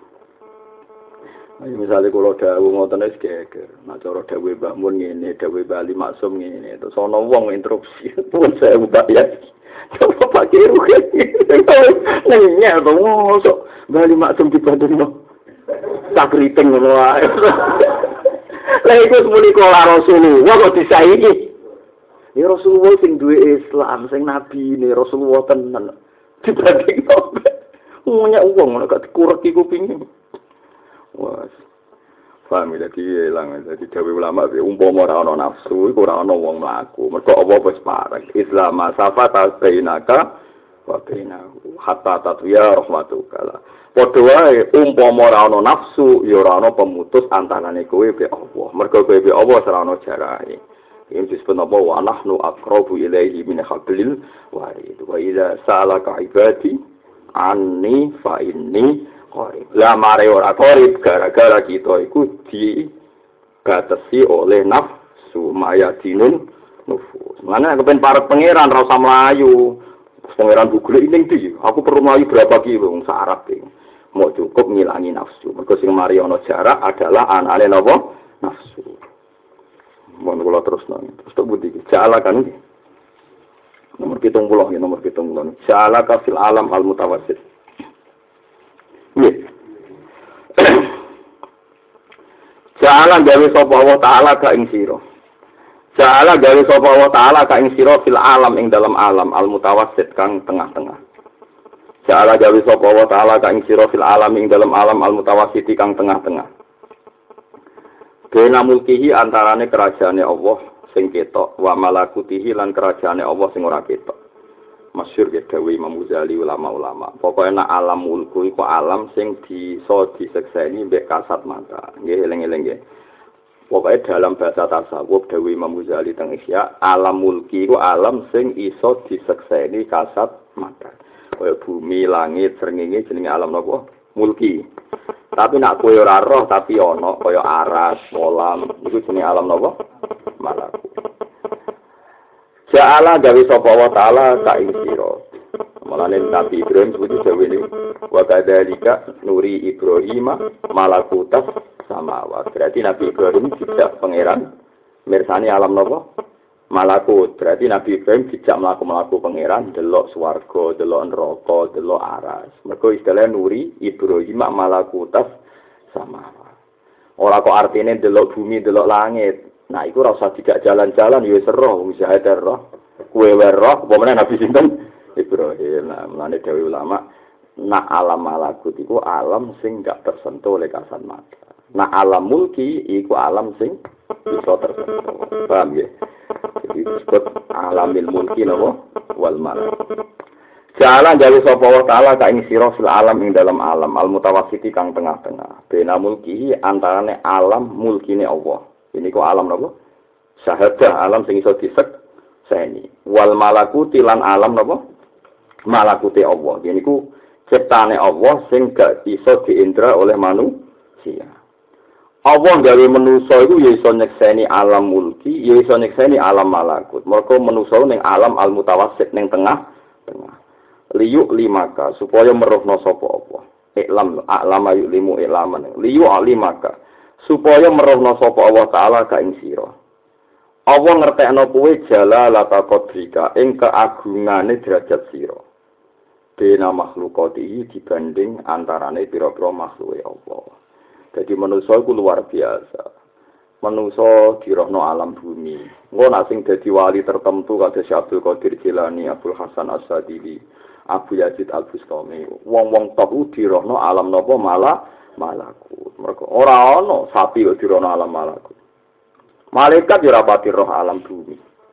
Ayo misalnya kalau dawuh ngoten wis geger. Nah cara dawuh Mbah Mun ngene, dawuh Bali Maksum ngene. Terus ana wong interupsi. Pun saya mbak ya. Coba pakai rugen. Nanya to mosok Bali Maksum dibandingno. Sakriting ngono wae. Lah iku muni kala Rasulullah kok disaiki. Ya Rasulullah sing duwe Islam, sing nabi ne Rasulullah tenan. Dibandingno. Ngono wong nek dikurek iku pingin. Wah, paham ya, jadi hilang, jadi dawuh ulama, umpama ora ana nafsu, iku ora ana wong mlaku. Mergo apa wis pareng. Islam safa bainaka wa bainahu hatta tatwiya rahmatukallah. Padha wae umpama ora ana nafsu, ya ora ana pemutus antarane kowe be Allah. Mergo kowe be Allah ora ana jarake. Iki disebut apa wa nahnu aqrabu ilaihi min hablil warid. Wa idza sa'alaka ibadi anni fa inni lah mare ora korip gara-gara kita iku dibatasi oleh nafsu mayadinun nufus. Mana kepen para pangeran ra usah mlayu. Pangeran Google ning ndi? Aku perlu mlayu berapa kilo wong sarap iki. Mau cukup ngilangi nafsu. Mergo sing mari ana jarak adalah anane napa? Nafsu. Mun kula terus nang. Terus tok budi iki. Jala kan iki. Nomor tujuh puluh ya nomor tujuh puluh. Jala ka fil alam al mutawassit. Ja'ala gawe sapa wa ta'ala ka ing sira. Ja'ala gawe sapa wa ta'ala ka ing sira fil alam ing dalam alam al mutawassit kang tengah-tengah. Ja'ala gawe sapa wa ta'ala ka ing sira fil alam ing dalam alam al mutawassit kang tengah-tengah. Dene mulkihi antarane kerajaane Allah sing ketok wa malakutihi lan kerajaane Allah sing ora ketok. Masyhur ya dawuh Imam Ghazali ulama-ulama. Pokoke nek alam mulku iku alam sing bisa disekseni mbek kasat mata. Nggih eling-eling nggih. Pokoke dalam bahasa tasawuf dawuh Imam Ghazali teng Ihya, alam mulki iku alam sing iso disekseni kasat mata. Kaya bumi, langit, srengenge jenenge alam napa? Mulki. Tapi nek kowe ora roh tapi ana kaya aras, kolam, iku jenenge alam napa? Malakut. Ja'ala gawe sapa wa ta'ala ka ing sira. Mulane Nabi Ibrahim sebut dawuhe wa kadzalika nuri Ibrahim malakutas samawat. Berarti Nabi Ibrahim dijak pangeran mirsani alam napa? Malakut. Berarti Nabi Ibrahim dijak mlaku-mlaku pangeran delok swarga, delok neraka, delok aras. Mergo istilah nuri Ibrahim malakutas samawat. Ora kok artine delok bumi, delok langit. Nah, iku ora usah dijak jalan-jalan ya wis roh, wis sadar roh. Kuwe wae roh, apa meneh Nabi sinten? Ibrahim. Nah, mulane dawuh ulama, nak alam malakut iku alam sing gak tersentuh oleh kasat mata. Nak alam mulki iku alam sing bisa tersentuh. Paham ya? Jadi disebut alamil mulki napa? Wal malakut. Jalan gawe sapa wa ta'ala ka ing sira fil alam ing dalam alam al mutawassiti kang tengah-tengah. Bena mulki antarane alam mulkine Allah. Ini kok alam napa? Syahadah alam sing iso disekseni. Wal malakuti lan alam napa? Malakuti Allah. Ini ku ciptane Allah sing gak iso diindra oleh manusia. Allah gawe manusa iku ya iso nyekseni alam mulki, ya iso nyekseni alam malakut. Mergo manusa ning alam al-mutawassit ning tengah tengah. Liyuk limaka supaya meruhna sapa apa. Iklam alam ayu limu ilaman. Liyuk limaka supaya meruhna sapa Allah taala ka ing sira. Allah ngertekno kowe jalalata qadrika ing keagungane derajat sira. Bena makhlukati dibanding antarane pira-pira makhluke Allah. Jadi manusia itu luar biasa. Manusia dirohno alam bumi. Engko nek sing dadi wali tertentu kados Abdul Qadir Jilani, Abdul Hasan As-Sadili, Abu Yazid Al-Bustami. Wong-wong top ku dirohno alam napa malah malakut. Mergo ora ana sapi kok dirohno alam malakut. Malaikat yo ora pati roh alam bumi.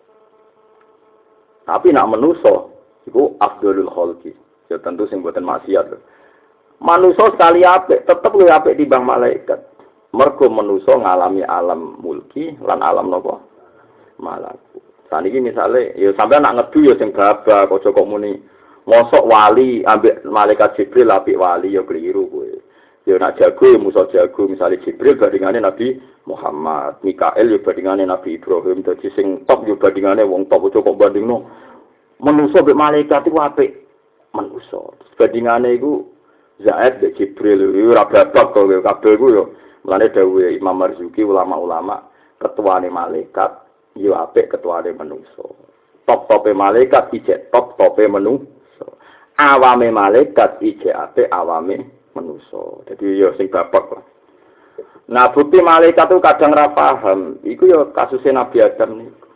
Tapi nak manusia iku afdalul khalqi. Ya tentu sing boten maksiat lho. Manusa sekali apik, tetep luwih apik timbang malaikat. Mergo manusa ngalami alam mulki lan alam napa? Malakut. Saniki misale ya sampean nak ngedu ya sing babak aja kok muni mosok wali ambek malaikat Jibril apik wali ya keliru kowe. Ya nak jago ya musa jago misale Jibril bandingane Nabi Muhammad, Mikael ya bandingane Nabi Ibrahim, dadi sing top ya bandingane wong top aja kok bandingno. Manusa mbek malaikat iku apik manusa. Bandingane iku Zaid de Jibril ora babak kok kabeh ku yo. Mulane dawuhe Imam Marzuki ulama-ulama ketuane malaikat yo apik ketuane manusa. Top-tope malaikat ijek top-tope manusa. Awame malaikat ijek apik awame manusa. Dadi yo sing babak lah. Nah, bukti malaikat itu kadang ra paham. Iku yo kasusé Nabi Adam niku.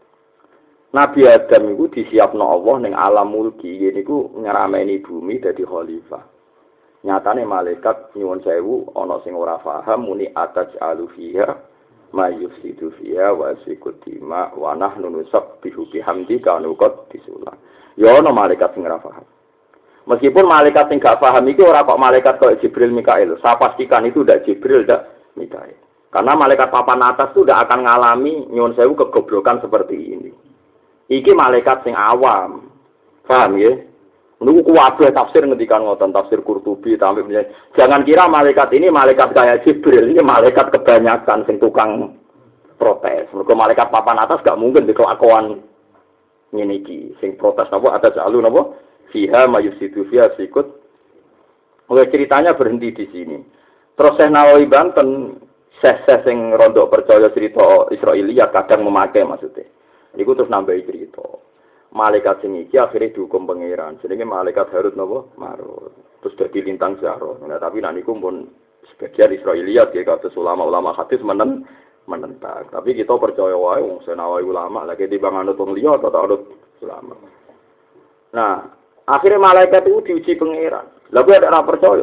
Nabi Adam iku disiapno Allah ning alam mulki niku ngerameni bumi dadi khalifah. Nyatane malaikat nyuwun sewu ana sing ora paham muni ataj alufiha mayusidu fiha wa sikutima wa nahnu nusabbihu bihamdika nuqad disulah. Ya ana malaikat sing ora paham. Meskipun malaikat sing gak paham iki ora kok malaikat kok Jibril Mikail. Saya pastikan itu ndak Jibril ndak Mikail. Karena malaikat papan atas itu ndak akan ngalami nyuwun sewu kegoblokan seperti ini. Iki malaikat sing awam. Paham ya? Niku kuwabe tafsir ngendikan ngoten tafsir Qurtubi tambe jangan kira malaikat ini malaikat kayak Jibril, ini malaikat kebanyakan sing tukang protes. Mergo malaikat papan atas gak mungkin dikelakuan ngene iki. Sing protes napa ada jalu napa? Fiha mayusidu fiha sikut. Oke, ceritanya berhenti di sini. Terus Syekh Nawawi Banten, syekh-syekh sing rondok percaya cerita Israiliyat kadang memakai maksudnya. Iku terus nambahi cerita. Malaikat sing iki akhire dihukum pangeran. Jenenge malaikat Harut napa? Marut. Terus dadi lintang Zahra. Nah, tapi nek niku pun sebagian Israiliyat ya kados ulama-ulama hadis menen menentang. Tapi kita percaya wae wong senawi ulama lagi dibang anut wong liya atau anut ulama. Nah, akhirnya malaikat itu diuji pangeran. Lah kowe ora percaya.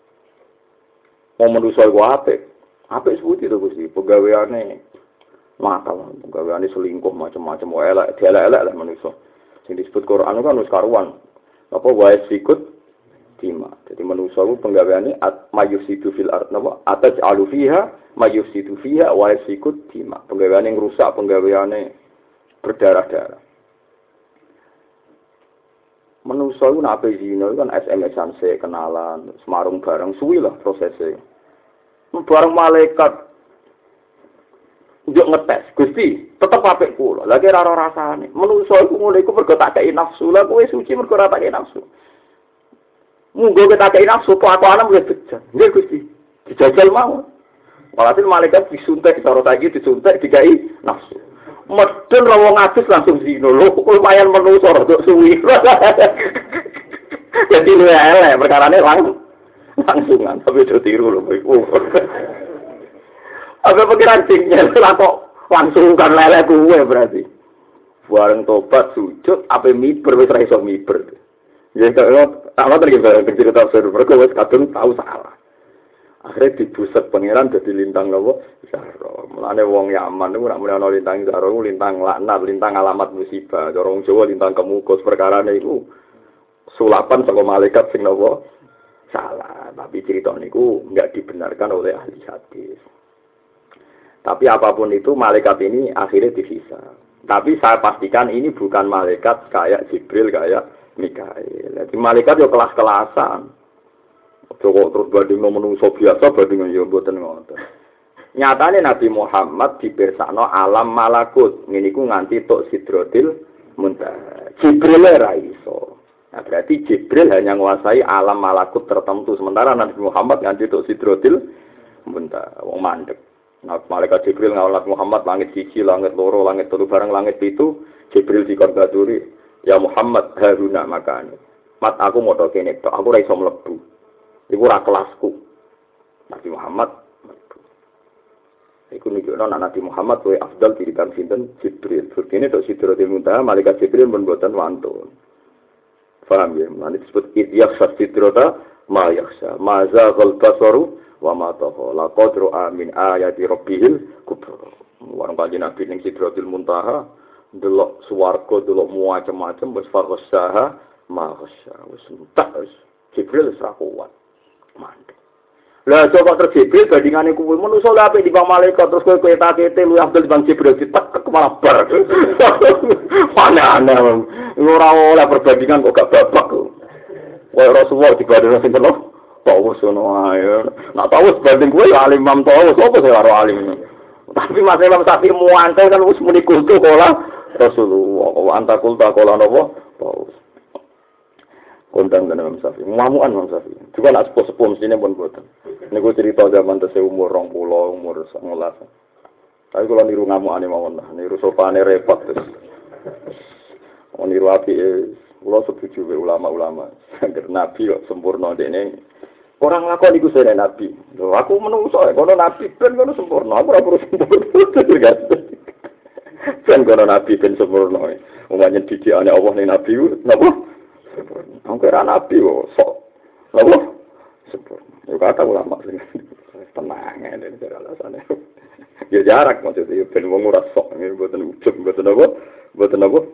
Mau manusa iku apik. Apik sebuti to Gusti, pegaweane makal, pegaweane selingkuh macam-macam wae elek, dielek-elek lah manusa. Sing disebut Quran kan wis karuan. Apa wae sikut tima. Jadi manusa ku penggaweane mayusidu fil ard napa ataj alu fiha mayusidu fiha wae sikut tima. Penggaweane ngrusak, penggaweane berdarah-darah. Manusa ku nek zina kan S M S-an se kenalan, semarung bareng suwi lah prosesnya. Bareng malaikat njuk ngetes, Gusti, tetep apik kula. Lagi ora ora rasane. Menungso iku ngono iku mergo tak kei nafsu. Lah kowe suci mergo ora tak kei nafsu. Munggo kita kei nafsu kelakuane wis bejat. Nggih Gusti, dijajal mau. Walhasil malaikat disuntik cara saiki disuntik dikai nafsu. Medhen ra wong adus langsung zina. Lho lumayan menungso rada suwi. Jadi lu elek perkarane langsung langsungan tapi do tiru lho iku. Apa pikiran singnya lah kok langsung kan lele kuwe berarti. Bareng tobat sujud apa miber wis ra iso miber. Ya kok ana terus bareng cerita seru mergo wis kadung tahu salah. Akhirnya dibuset pangeran dadi lintang apa? Zahra. Mulane wong Yaman niku nek muni ana lintang Zahra niku lintang laknat, lintang alamat musibah. Cara wong Jawa lintang kemukus perkarane iku sulapan saka malaikat sing napa salah. Tapi cerita niku enggak dibenarkan oleh ahli hadis. Tapi apapun itu malaikat ini akhirnya dihisab. Tapi saya pastikan ini bukan malaikat kayak Jibril, kayak Mikail. Jadi malaikat yo kelas-kelasan. Joko terus banding menungso biasa banding yo mboten ngoten. Nyatane Nabi Muhammad dipirsakno alam malakut. Ngene iku nganti tok Sidratil Muntaha. Jibril ora iso. Nah, berarti Jibril hanya menguasai alam malakut tertentu. Sementara Nabi Muhammad nganti tok Sidratil Muntaha. Wong mandek. Nah, malaikat Jibril ngawlat Muhammad langit siji, langit loro, langit telu bareng langit pitu. Jibril dikon baturi, "Ya Muhammad, haruna makane." Mat aku modho kene tok, aku ora iso mlebu. Iku ora kelasku. Nabi Muhammad iku nunjukno nek Nabi Muhammad luwih afdal tinimbang sinten Jibril. Burkine tok Sidratil Muntaha malaikat Jibril pun boten wantun. Paham ya? Nanti disebut idyakhsha sidrata ma yakhsha. Ma zaghal basaru wa ma tagha. Laqad ra'a min ayati rabbihil kubra. Warang kanjeng Nabi ning Sidratil Muntaha delok swarga, delok macam-macam wis farsaha ma khasya. Wis entek wis Jibril wis ra kuat. Mandek. Lah coba terus Jibril bandingane kuwi manusa lha apik dibanding malaikat terus kowe kowe takete luwih abdul dibanding Jibril ditek malah bar. Aneh-aneh. Ora oleh perbandingan kok gak babak. Kowe Rasulullah dibanding sinten lho? Tahu sono ae. Nak tahu banding kowe ya alim Imam tahu sapa sing karo alim. Tapi Mas Imam Syafi'i muantel kan wis muni kultu kala Rasulullah. Anta kulta kala napa? Tahu. Kondang kan Imam Syafi'i. Mamuan Imam Syafi'i. Juga nak sepuh-sepuh mestine pun boten. Niku cerita zaman tesih umur rong puluh, umur sebelas. Tapi kalau niru ngamukane mawon lah, niru sopane repot terus. Oh niru apike, kula setuju wae ulama-ulama. Angger nabi kok sempurna dekne. Orang lakon iku sene nabi. Lho aku menungso ya, kono nabi ben kono sempurna, aku ora perlu sempurna. Ben kono nabi ben sempurna. Umane didikane Allah ning nabi napa? Sempurna. Angger nabi kok sok. Napa? Sempurna. Ya kata ulama tenang ya ini alasannya. Ya jarak maksudnya ben wong ora sok ngene mboten ujug mboten apa mboten apa.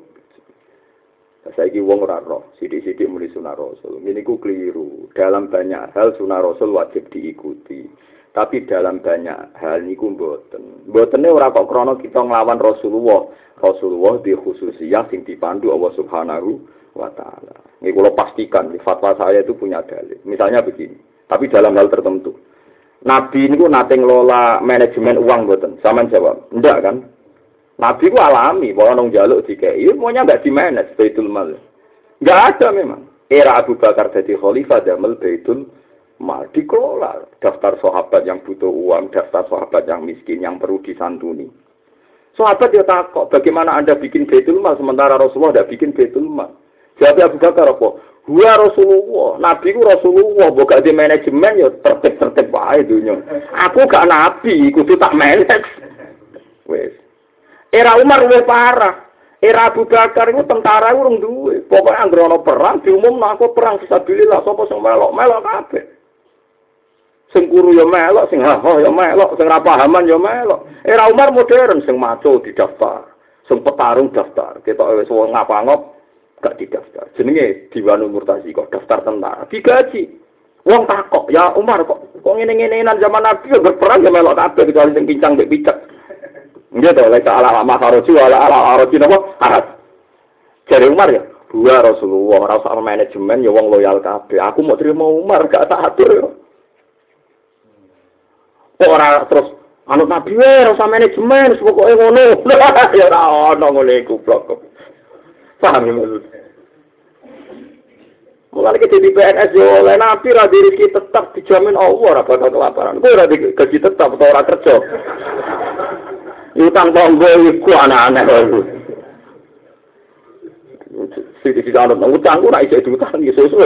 Saiki wong ora roh, sithik-sithik muni sunah Rasul. Ngene iku keliru. Dalam banyak hal sunah Rasul wajib diikuti. Tapi dalam banyak hal niku mboten. Mbotene ora kok krana kita nglawan Rasulullah. Rasulullah di khususiyah sing dipandu Allah Subhanahu wa taala. Ini kula pastikan di fatwa saya itu punya dalil. Misalnya begini. Tapi dalam hal tertentu. Nabi ini ku nate ngelola manajemen uang boten. Saman jawab, ndak kan? Nabi ku alami, bahwa nong jaluk dikei, semuanya nggak dimanage Baitul Mal. Nggak ada memang. Era Abu Bakar jadi khalifah damel Baitul Mal dikelola. Daftar sahabat yang butuh uang, daftar sahabat yang miskin yang perlu disantuni. Sahabat dia takut, bagaimana Anda bikin Baitul Mal sementara Rasulullah tidak bikin Baitul Mal? Jawab Abu Bakar apa? Gua Rasulullah, Nabi ku Rasulullah, bukan di manajemen ya tertib-tertib wae dunya. Aku gak Nabi, kudu tak manage. Wes. Era Umar luwih parah. Era Abu Bakar itu tentara urung duwe. Pokoke anggere ana perang diumumno aku perang fisabilillah, sapa sing melok-melok kabeh. Sing kuru ya melok, sing haho ya melok, sing ra pahaman ya melok. Era Umar modern sing maco didaftar, sing petarung daftar. Ketok wis wong ngapa-ngop gak didaftar. Jenenge Diwanul Murtasi kok daftar tentara. Digaji. Wong takok, ya Umar kok kok ngene-ngenenan zaman Nabi ya berperang ya melok kabeh kecuali sing pincang mek picek. Nggih to, lek ala ala kharoji ala ala kharoji napa? Harat. Jare Umar ya, dua Rasulullah ora usah manajemen ya wong loyal kabeh. Aku mau terima Umar gak tak atur ya. Ora terus anut Nabi wae ora usah manajemen, pokoke ngono. Ya ora ono ngene iku blok. Paham ya maksud? Mulai kita di P N S yo oleh Nabi ra diri tetap dijamin Allah ora bakal kelaparan. Kowe ora gaji tetap atau ora kerja. Utang tanggo iku anak-anak iku. Sing dianut utang ora iso diutang iso suwe.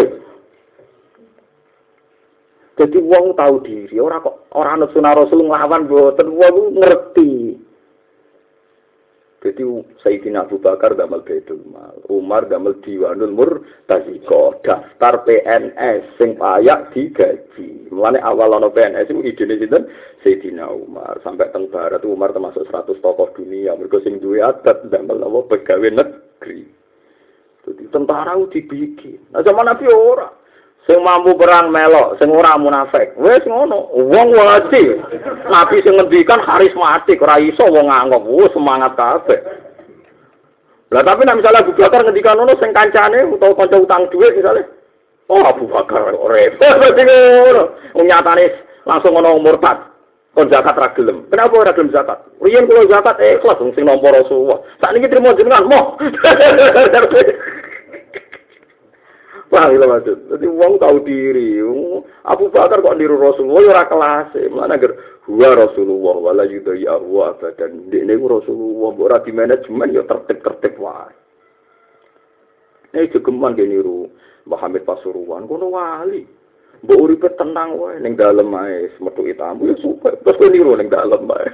Jadi wong tahu diri, ora kok ora anut sunah Rasul nglawan mboten wong ngerti. Jadi Sayyidina Abu Bakar damel Baitul Mal, Umar damel Diwanul Murtaziko, daftar P N S sing payak digaji. Mulane awal ana P N S iku idene sinten? Sayyidina Umar. Sampai teng barat Umar termasuk seratus tokoh dunia, mergo sing duwe adat damel apa pegawai negeri. Jadi tentara dibikin. Nah zaman Nabi ora. Sing mampu perang melok, sing ora munafik. Wis ngono, wong wajib. Nabi sing ngendikan karismatik, ora iso wong nganggep, wis semangat kabeh. Lah tapi nek misalnya Abu Bakar ngendikan ngono sing kancane utawa kanca utang dhuwit misale, oh Abu Bakar repot berarti ngono. Wong nyatane langsung ono murtad. Kon zakat ra gelem. Kenapa ora gelem zakat? Riyen kula zakat ikhlas wong sing nampa Rasulullah. Sakniki trimo jenengan moh. Wah, lha maksud. Dadi wong tau diri. Abu Bakar kok niru Rasulullah ya ora kelas. Mana agar huwa Rasulullah wala yudhi'a wa abadan. Dekne ku Rasulullah ora di manajemen ya tertib-tertib wae. Eh jogeman ge niru Muhammad Pasuruan kono wali. Mbok uripe tenang wae ning dalem ae metuki tamu ya suka. Terus kowe niru ning dalem ae.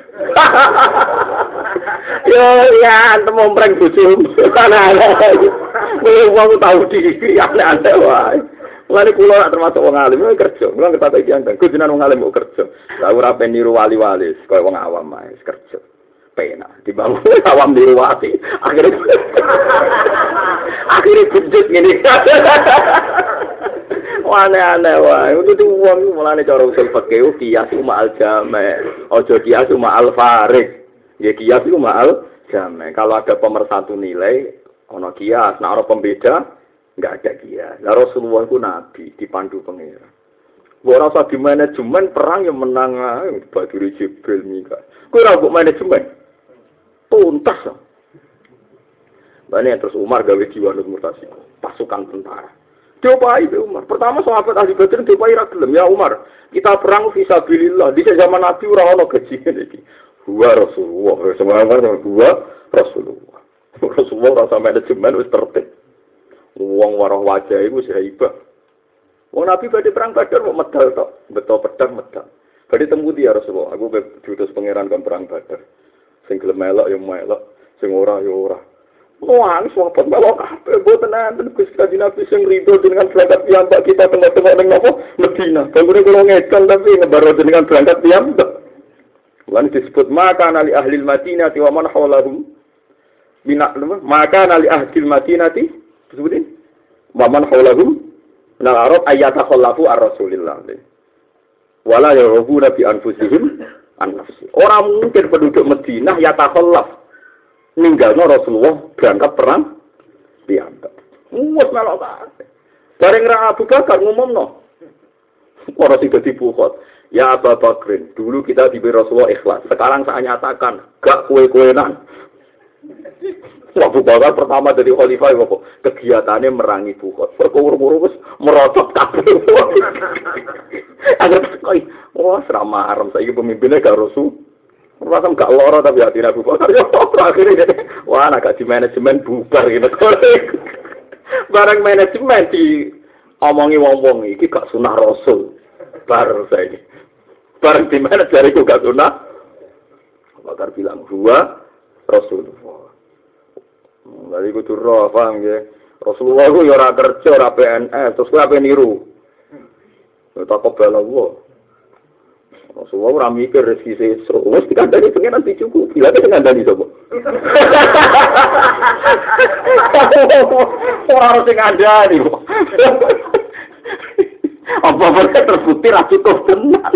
Yo ya temu mreng bojomu. Kowe wong tau diri aneh-aneh wae. Mulane kula nak termasuk wong alim kerja. Kula ngerti iki andang. Kudunan wong alim kok kerja. Lah ora ben niru wali-wali kaya wong awam ae kerja. Penak dibangun awam niru wali. Akhire akhire kujut ngene. Aneh-aneh wae. Itu wong mulane cara usul fikih kias ma'al jama'. Aja kias ma'al farik. Ya kias itu ma'al jama'. Kalau ada pemersatu nilai ana kias, nek ana pembeda enggak ada kias. Lah Rasulullah ku nabi dipandu pangeran. Ora usah di manajemen perang yang menang ae Baduri Jibril Mika. Kuwi ora kok manajemen. Tuntas. Bane terus Umar gawe jiwa murtasi. Pasukan tentara. Diopai Umar. Pertama sahabat ahli Badar diopai ra gelem. Ya Umar, kita perang fisabilillah. Di zaman Nabi ora ono gaji iki. Huwa Rasulullah. Sebenarnya huwa Rasulullah. Rasulullah rasa manajemen wis tertib. Wong waroh wajah iku wis hebat. Wong Nabi badhe perang Badar kok medal tok. Beto pedang medal. Badhe temu dia Rasulullah. Aku diutus pangeran kon perang Badar. Sing gelem melok ya melok, sing ora ya ora. Wah, sahabat melok kabeh mboten enten Gusti Kanjeng Nabi sing rido dengan berangkat piyambak kita tengok-tengok ning napa Madinah. Bangunane kula ngedon tapi ngebaro dengan berangkat piyambak. Lan disebut maka nali ahli Madinah wa man hawlahum minak maka nali ahli Madinah disebutin wa man hawlahum nal arab ayata khallafu ar-rasulillah. Wala yarubuna bi anfusihim an-nafsi. Orang mungkin penduduk Madinah ya takhallaf ninggalno Rasulullah berangkat perang piyambak. Wes melok kabeh. Bareng ra Abu Bakar ngumumno. Ora sing dadi bukhot. Ya Abu Bakrin, dulu kita diberi Rasulullah ikhlas. Sekarang saya nyatakan, gak kue-kuenan. Abu Bakar pertama dari khalifah apa? Kegiatannya merangi bukhot. Perkuru-kuru wis merosot kabeh. Agar koi, wah serama haram saiki pemimpinnya gak Rasul. Rasam gak loro tapi hati Abu Bakar ya akhirnya wah nak di manajemen bubar gitu. Barang manajemen di omongi wong-wong iki gak sunah Rasul. Bar saiki. Barang di mana jariku gak sunah. Abu Bakar bilang gua Rasulullah. Lha iku turu paham ya. Rasulullah ku ya ora kerja ora P N S terus kowe ape niru. Tak kobel Allah. Rasulullah ora mikir rezeki sesuk. Wis dikandani pengen nanti cukup. Bila ada ngandani sapa? Ora harus ngandani. Apa mereka terbukti ra cukup tenan.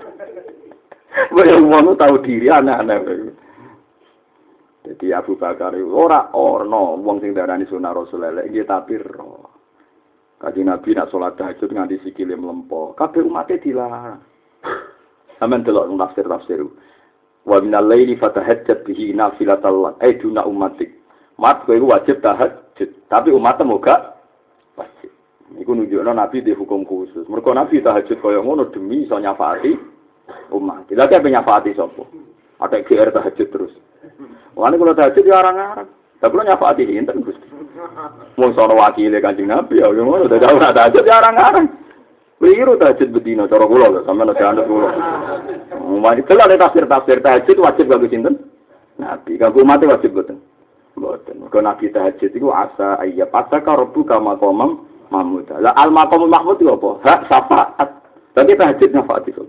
Wong wong tahu diri anak-anak. Jadi Abu Bakar ora ono wong sing darani sunah Rasulullah nggih tapi ro. Kanjeng Nabi nak salat tahajud nganti sikile mlempo. Kabeh umate dilarang. Aman delok tafsir-tafsir. Wa minal laili fatahajjat bihi nafilatal lak. Eh duna umatik. Mat kowe wajib tahajud, tapi umatmu gak wajib. Iku nunjukno Nabi di hukum khusus. Mergo Nabi tahajud kaya ngono demi iso nyafaati umat. Lha kaya nyafaati sapa? Ada G R tahajud terus. Wani kula tahajud ya arang-arang. Lah kula nyafaati enten Gusti. Wong sono wakile Kanjeng Nabi ya ngono dadi ora tahajud ya arang-arang. Wiru tahajud bedino cara kula lho sampeyan nek anut kula. Mari kelane tafsir-tafsir tahajud wajib kanggo sinten? Nabi. Kanggo umat wajib boten. Boten. Mergo Nabi tahajud iku asa ayyab ataka rabbuka maqamam mahmud. Lah al maqamul mahmud iku apa? Hak syafaat. Tapi tahajud nyafaat iso.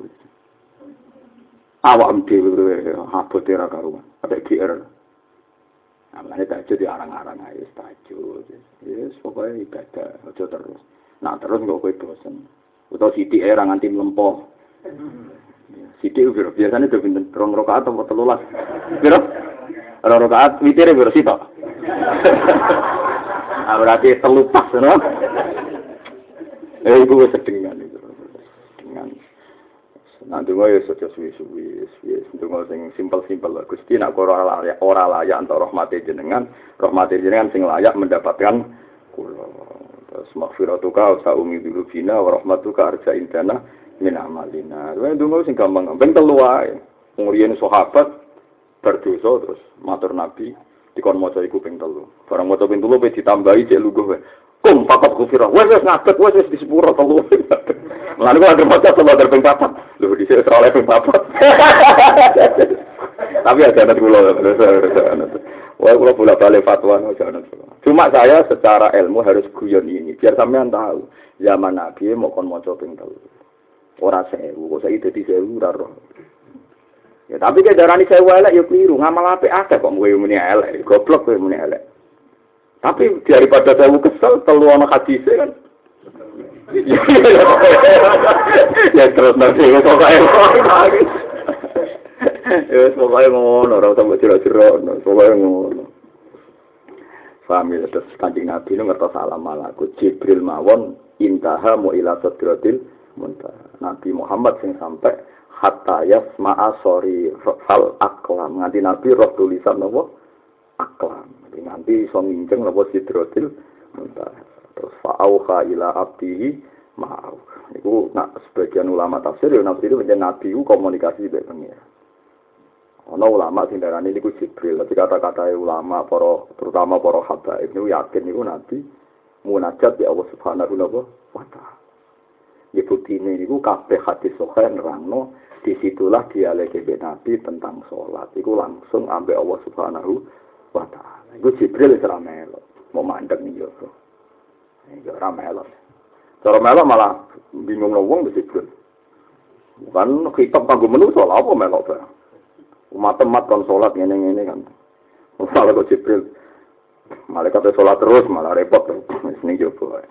Awak dhewe abote ra karuan. Ada G R. Amane tahajud di arang-arang ae tahajud. Yes, pokoke ibadah aja terus. Nah, terus kok kowe bosen. Utawa sithik era nganti mlempo. Sithik piro? Biasane do pinten? Rong rakaat atau telulas? Piro? Rong rakaat witire piro sitok? Ah berarti telu pas, no? Eh iku wis sedengan itu. Sedengan. Nah, donga ya aja suwi-suwi, wis donga sing simpel-simpel. Gusti nek ora layak, ora layak entuk rahmate jenengan, rahmate jenengan sing layak mendapatkan kula. Terus maghfiratuka wa umi dzulubina wa rahmatuka arja indana min amalina. Kuwi donga sing gampang-gampang telu wae. Ngriyen sahabat berdosa terus matur Nabi dikon maca iku ping telu. Barang maca ping telu pe ditambahi cek luguh wae. Kum papat kufira. Wes wes ngadeg wes wis di sepuro telu. Lalu kok ada maca telu der ping papat. Lho dhisik ora oleh ping papat. Tapi ada anak kula. Wah, kula bolak-balik fatwa jangan. Cuma saya secara ilmu harus guyon ini biar sampean tahu. Zaman Nabi mau kon maca ping telu. Ora sewu, kok saiki dadi sewu ora roh. Ya tapi ke darani sewu elek ya kliru, ngamal apik akeh kok kowe muni elek, goblok kowe muni elek. Tapi daripada saya kesel, telu ana hadis kan. Ya terus nanti kok kaya ya pokoke ngono, ora usah jero-jero, pokoke ngono. Paham ya, terus Kanjeng Nabi nu ngertos salam malaku Jibril mawon intaha mu ila sadratil muntaha. Nabi Muhammad sing sampai hatta yasma'a sori fal aqlam. Nganti Nabi roh tulisan napa? Aklam. Nanti iso nginceng napa sidratil muntaha. Terus fa'auha ila abdihi ma'au. Niku nak sebagian ulama tafsir ya nafsi itu menjadi nabi ku komunikasi mbek pengira. Ana ulama sing darani niku Jibril, tapi kata-kata ulama para terutama para habaib niku yakin niku nabi munajat ya Allah Subhanahu wa taala. Ya buktine niku kabeh hadis sahih nerangno disitulah dialek nabi tentang salat. Iku langsung ambek Allah Subhanahu wa taala. Iku Jibril ora melok, mau mandek ning yo. Iki ora melok. Cara melok malah bingung wong wis Jibril. Bukan kitab kanggo menungso lha apa melok ta. Umat-umat kon salat ngene-ngene kan. Malah kok Jibril. Malaikat salat terus malah repot wis ning yo wae.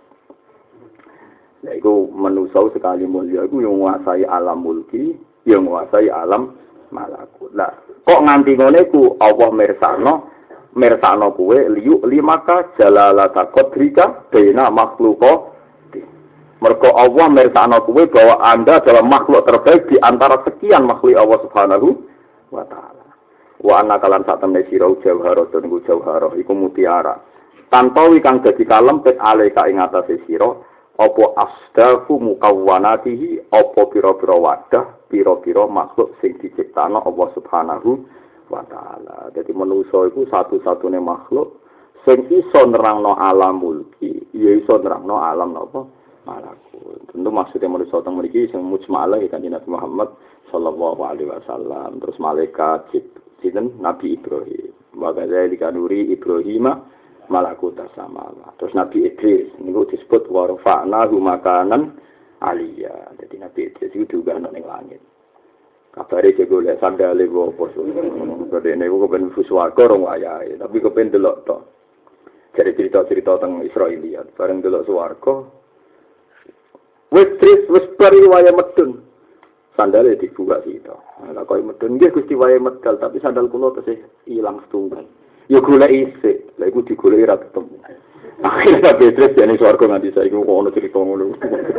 Lah iku menungso sekali mulia iku yang nguasai alam mulki, yang nguasai alam malakut. Lah kok nganti ngene ku Allah mirsakno mirsakno kuwe liyu limaka jalalata qadrika baina makhluqa. Mergo Allah mirsakno kuwe bahwa Anda adalah makhluk terbaik di antara sekian makhluk Allah Subhanahu wa taala. Wa anna kalan sak temne sira jawharatun iku jawharah iku mutiara. Tanpa kang dadi kalempit alika ing atase sira apa asdafu mukawwanatihi apa pira-pira wadah pira-pira makhluk sing diciptakno Allah Subhanahu wa taala. Dadi manusa iku satu-satune makhluk sing iso nerangno alam mulki, ya iso nerangno alam napa malakut. Tentu maksudnya manusa teng mriki sing mujmalah kan Nabi Muhammad sallallahu alaihi wasallam, terus malaikat sinten Nabi Ibrahim. Wa kadzalika nuri Ibrahim malakut sama. Terus Nabi Idris niku disebut warfa'nahu makanan aliyah. Jadi Nabi Idris itu juga ana ning langit. Kabare sing golek sandale opo so. Kode niku kepen swarga rong wayahe, tapi kepen delok tok. Jadi cerita-cerita tentang Israeliat, bareng delok swarga. Wis tris wis bari waya medun. Sandale dibuka sito. Lah koyo medun nggih Gusti waya medal, tapi sandal kula tesih ilang setunggal. Ya golek isik, lha iku digoleki ra ketemu. Akhirnya Petrus jane swarga nganti saiki kok ono cerita ngono.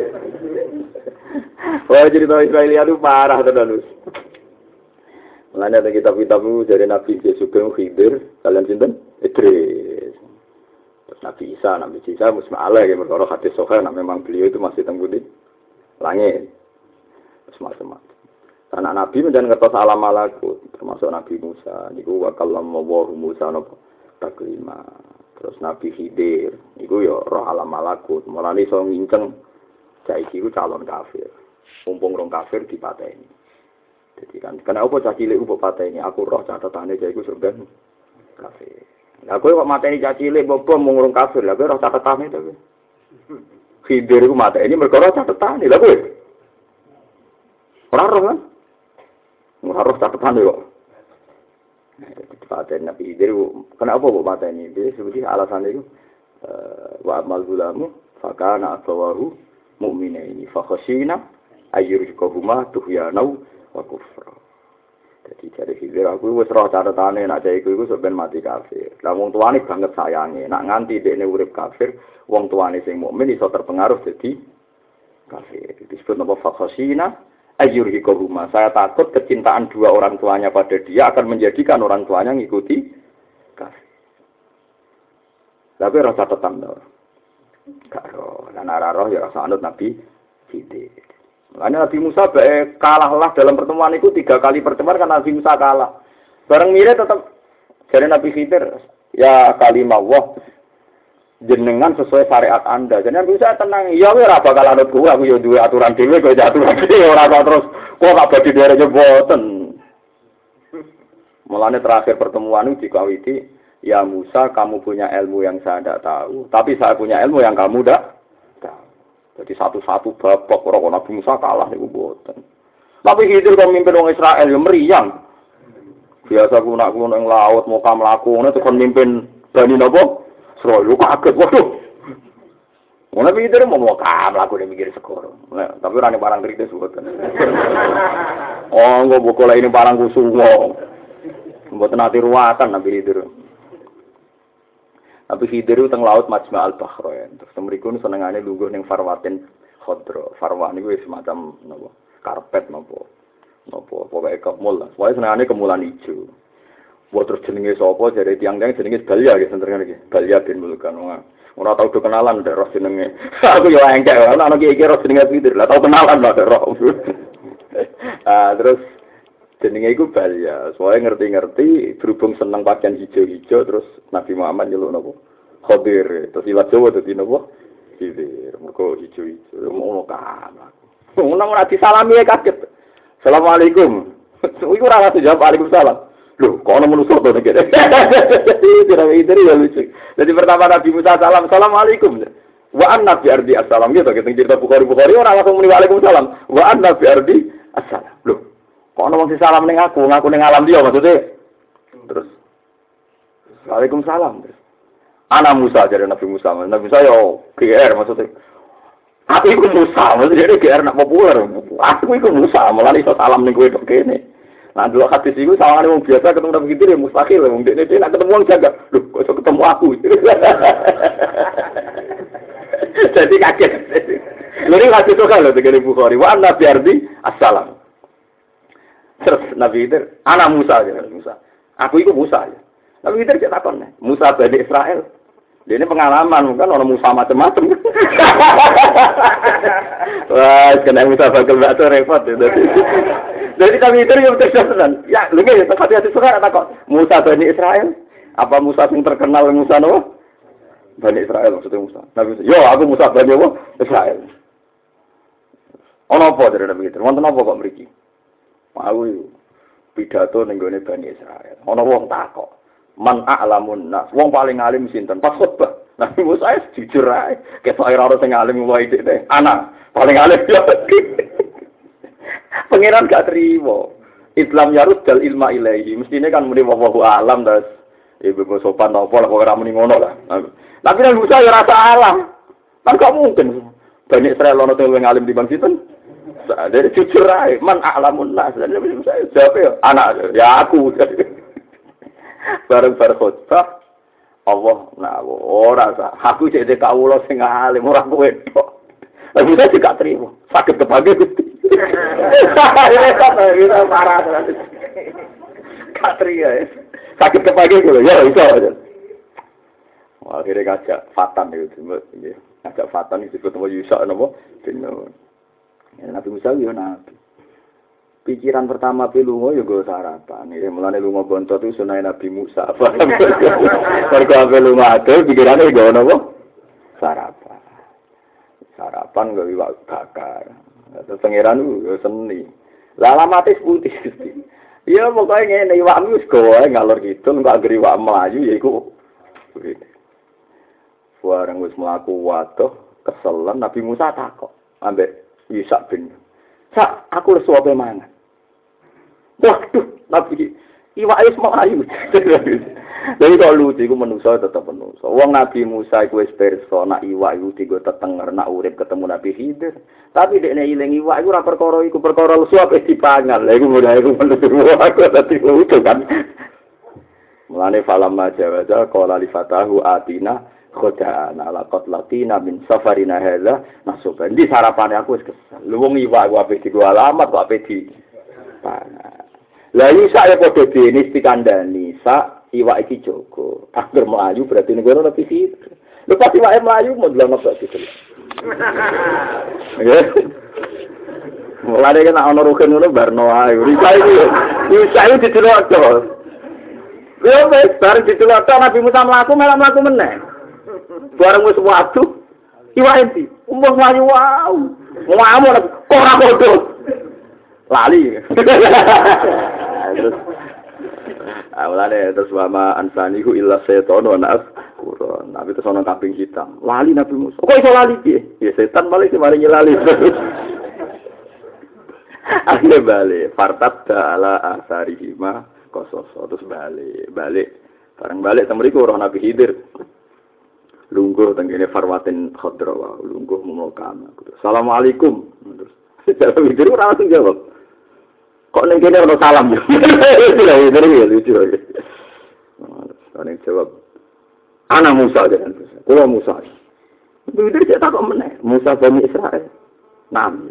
Wah cerita Israeliat itu parah tenan wis. Lan ada kitab-kitab dari Nabi Yesus bin Khidir, kalian sinten? Idris. Terus Nabi Isa, Nabi Isa musma'ala ya perkara hadis sahih nek memang beliau itu masih teng budi langit. Terus macam-macam. Anak Nabi menjadi ngertos alam malakut, termasuk Nabi Musa. Niku wa kallallahu Musa napa taklima. Terus Nabi Khidir, niku ya roh alam malakut. Mulane iso nginceng saiki ku calon kafir. Mumpung rong kafir dipateni. Jadi kan kenapa cah cilik mbok pateni? Aku roh catatane cah iku surga kafir. Lah kowe kok mateni cah cilik mbok bom mung rong kafir. Lah kowe roh catatane to kowe. Khidir ku mateni mergo roh catatane. Lah kowe ora roh kan? Ora roh catatane kok. Pateni Nabi Khidir kenapa kok pateni? Dia sebutnya alasan itu wa amal gulamu fakana atawahu mu'minaini fa khashina ayyurikahuma tuhyanau wa kufra. Jadi dari Khidir aku wis roh catatane nek cah iku iku sok ben mati kafir. Lah wong tuane banget sayange, nek nganti dekne urip kafir, wong tuane sing mukmin iso terpengaruh dadi kafir. Disebut napa fa khashina ayyurhiqahuma. Saya takut kecintaan dua orang tuanya pada dia akan menjadikan orang tuanya ngikuti kafir. Tapi rasa catatan to. Karo lan ora roh ya rasa anut Nabi Khidir. Makanya Nabi Musa bae kalahlah dalam pertemuan itu tiga kali pertemuan kan Nabi Musa kalah. Bareng mirip tetap dari Nabi Khidir, ya kalimah Allah jenengan sesuai syariat Anda. Jadi Nabi Musa tenang, ya ora bakal anut kuwi, aku yo duwe aturan dhewe kok aturan dhewe ora kok terus kok gak badhe dereke boten. Mulane terakhir pertemuan itu dikawiti, ya Musa kamu punya ilmu yang saya tidak tahu, tapi saya punya ilmu yang kamu tidak tahu. Jadi satu-satu babak orang Nabi Musa kalah niku boten. Tapi Khidir kok mimpin wong Israel yo meriang. Biasa kunak-kunak ning laut mau kam lakune tekan mimpin Bani napa? Israel kaget waduh. Ngono Khidir mau mau kam lakune mikir segoro. Tapi ora ning barang kritis boten. Oh, engko bokola ini barang kusumo. Mboten ati ruwatan Nabi Khidir. Tapi Khidir itu teng laut Majma' al-Bahrain. Terus mriku senengane lungguh ning Farwatin Khadra. Farwan niku semacam napa? Karpet napa? Napa pokoke kemul lah. Pokoke senengane kemulan ijo. Wa terus jenenge sapa? Jare tiyang-tiyang jenenge Balya nggih senengane iki. Balya bin Mulkan. Ora tau do kenalan ndek roh jenenge. Aku yo engkek ana ana iki roh jenenge Khidir. Lah tau kenalan lah roh. Ah terus jenenge iku Balya. Soale ngerti-ngerti berhubung seneng pakaian hijau-hijau terus Nabi Muhammad nyeluk napa? Khadir. Terus iwat Jawa dadi napa? Khidir. Mergo hijau-hijau. Ngono kan. Ngono ora disalami kaget. Assalamualaikum. Iku ora rasa jawab Waalaikumsalam. Loh, kok ana manusa to nek. Tidak Khidir ya lucu. Jadi pertama Nabi Musa salam, Assalamualaikum. Wa anna bi ardi assalam gitu kita cerita Bukhari-Bukhari ora langsung muni Waalaikumsalam. Wa anna bi ardi assalam. Loh, kok ana wong sing salam ning aku, ngaku ning alam dia maksudnya. Terus Waalaikumsalam. Ana Musa jadi Nabi Musa. Nabi Musa yo G R maksudnya. Aku iku Musa, maksudnya G R nak populer. Aku iku Musa, malah iso salam ning kowe tok kene. Nah, dulu hadis iku sawangane wong biasa ketemu Nabi Khidir ya mustahil wong dekne dhewe nak ketemu wong jaga. Loh, kok iso ketemu aku. Jadi kaget. Lha hadis kok lho tegene Bukhari. Wa anna bi ardi assalam. Terus Nabi Khidir, ana Musa ya Musa. Aku iku Musa ya. Nabi Khidir cek takon, Musa Bani Israel. Dia ini pengalaman kan orang Musa macam-macam. Wah, kena Musa bakal bakal repot ya. Jadi kami itu yang terkesan. Ya, lu nggak ya tempat hati suka tak kok Musa Bani Israel? Apa Musa yang terkenal Musa no? Bani Israel maksudnya Musa. Nabi yo aku Musa Bani apa? Israel. Ono apa dari Nabi itu? Wonten apa kok mriki? Aku pidato ning gone Bani Israel. Ono wong takok. Man a'lamun nas. Wong paling alim sinten? Pas khotbah. Nabi Musa jujur ae. Ketok ora ono sing alim wae dhek. Anak paling alim yo. Pangeran gak terima. Islam yarud dal ilma ilaihi. Mestine kan muni wallahu alam das. Ibu kok sopan apa lah kok ora muni ngono lah. Tapi Nabi Musa ya ora salah. Kan gak mungkin. Banyak Israel ono sing luwih alim dibanding sinten. Dari jujur ae. Man a'lamun nas. Nabi Musa jawab ya anak ya aku. Bareng-bareng khotbah Allah nah ora sah aku cek dek kawula sing alim ora kowe tok. Lah bisa gak terima. Sakit kepake Gusti. Kita parah terus. Gak terima. Sakit kepake kok ya iso aja. Akhirnya ngajak Fatan itu nggih. Ngajak Fatan itu ketemu Yusa napa? Dino. Nabi Musa yo nabi. Pikiran pertama pi lunga ya go sarapan. Ya mulane lunga bontot itu sunah Nabi Musa. Mergo ape lunga ade pikirane go napa? Sarapan. Sarapan go iwak bakar. Terus pangeran yo seni. Lah alamate putih Gusti. Ya pokoke ngene iwak wis goe ngalor kidul kok anggere iwak mlayu ya iku. Warang wis mlaku waduh keselan Nabi Musa takok ambek Yusa bin. Sak aku lesu apa mangan. Waduh, Nabi iwak wis mlayu. Jadi kalau lucu iku manusa tetep manusa. Wong Nabi Musa iku wis pirsa nak iwak iku digo tetenger nak urip ketemu Nabi Khidir. Tapi dekne iling iwak iku ora perkara iku perkara lesu ape dipangan. Lha iku mulai iku manusa aku dadi lucu kan. Mulane falam majawaza qala li fatahu atina Khoda ala qatlatina min safarina hadza nasuban. Di sarapane aku wis kesel. Lu wong iwak aku ape di alamat kok ape di pangan. Lah iki saya padha dene pikandani sak iwak iki Joko. Angger mlayu berarti ning kono tapi sih. Lho pas iwake mlayu mau delok kok gitu. Ya. Mulane kan ana rugen ngono barno ae. Risa iki. Risa iki didelok to. Lho wis bareng didelok to Nabi Musa mlaku malah mlaku meneh. Barang wis waktu iwak enti umbuh mlayu wow ngomong kok ora podo lali terus awalane terus wama ansanihu illa setan wa nas Quran nabi terus ana kambing hitam lali Nabi Musa kok iso lali piye ya setan malah sing maringi lali akhirnya balik fartat ala asarihima kososo terus balik balik bareng balik temriku ora Nabi Khidir lungguh tenggene farwatin khadra wa lungguh mumukam. Assalamualaikum. Terus secara mikir ora langsung jawab. Kok ning kene ono salam. Lha iki lucu. Ana jawab. Ana Musa kan. Kulo Musa. Itu dia tak meneh. Musa Bani Israil. Nam.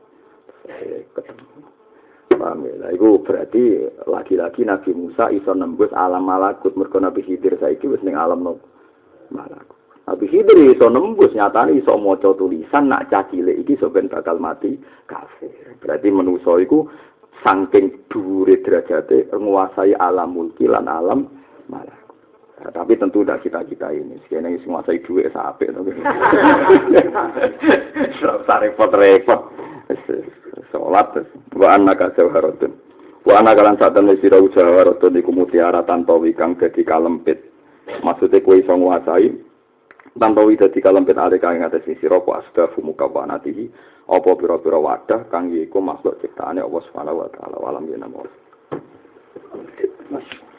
Paham ya? Itu berarti lagi-lagi Nabi Musa iso nembus alam malakut mergo Nabi Khidir saiki wis ning alam no malakut. Nabi Khidir iso nembus nyatane iso maca tulisan nak cah cilik iki sampeyan bakal mati kafir. Berarti manusa iku saking dhuwure derajate nguasai alam mulki lan alam malakut. Nah, tapi tentu tidak kita-kita ini. Sekene sing nguasai dhuwit sapik to. Ora repot-repot. Salat wa annaka jawharatun. Wa annaka lan satene sira jawharatun iku mutiara tanpa wikang dadi kalempit. Maksude kowe iso nguasai tanpa wida di kalempit ale kang ngates sira apa asdafu mukawanatihi apa pira-pira wadah kang iku makhluk ciptaane Allah Subhanahu wa taala walam yen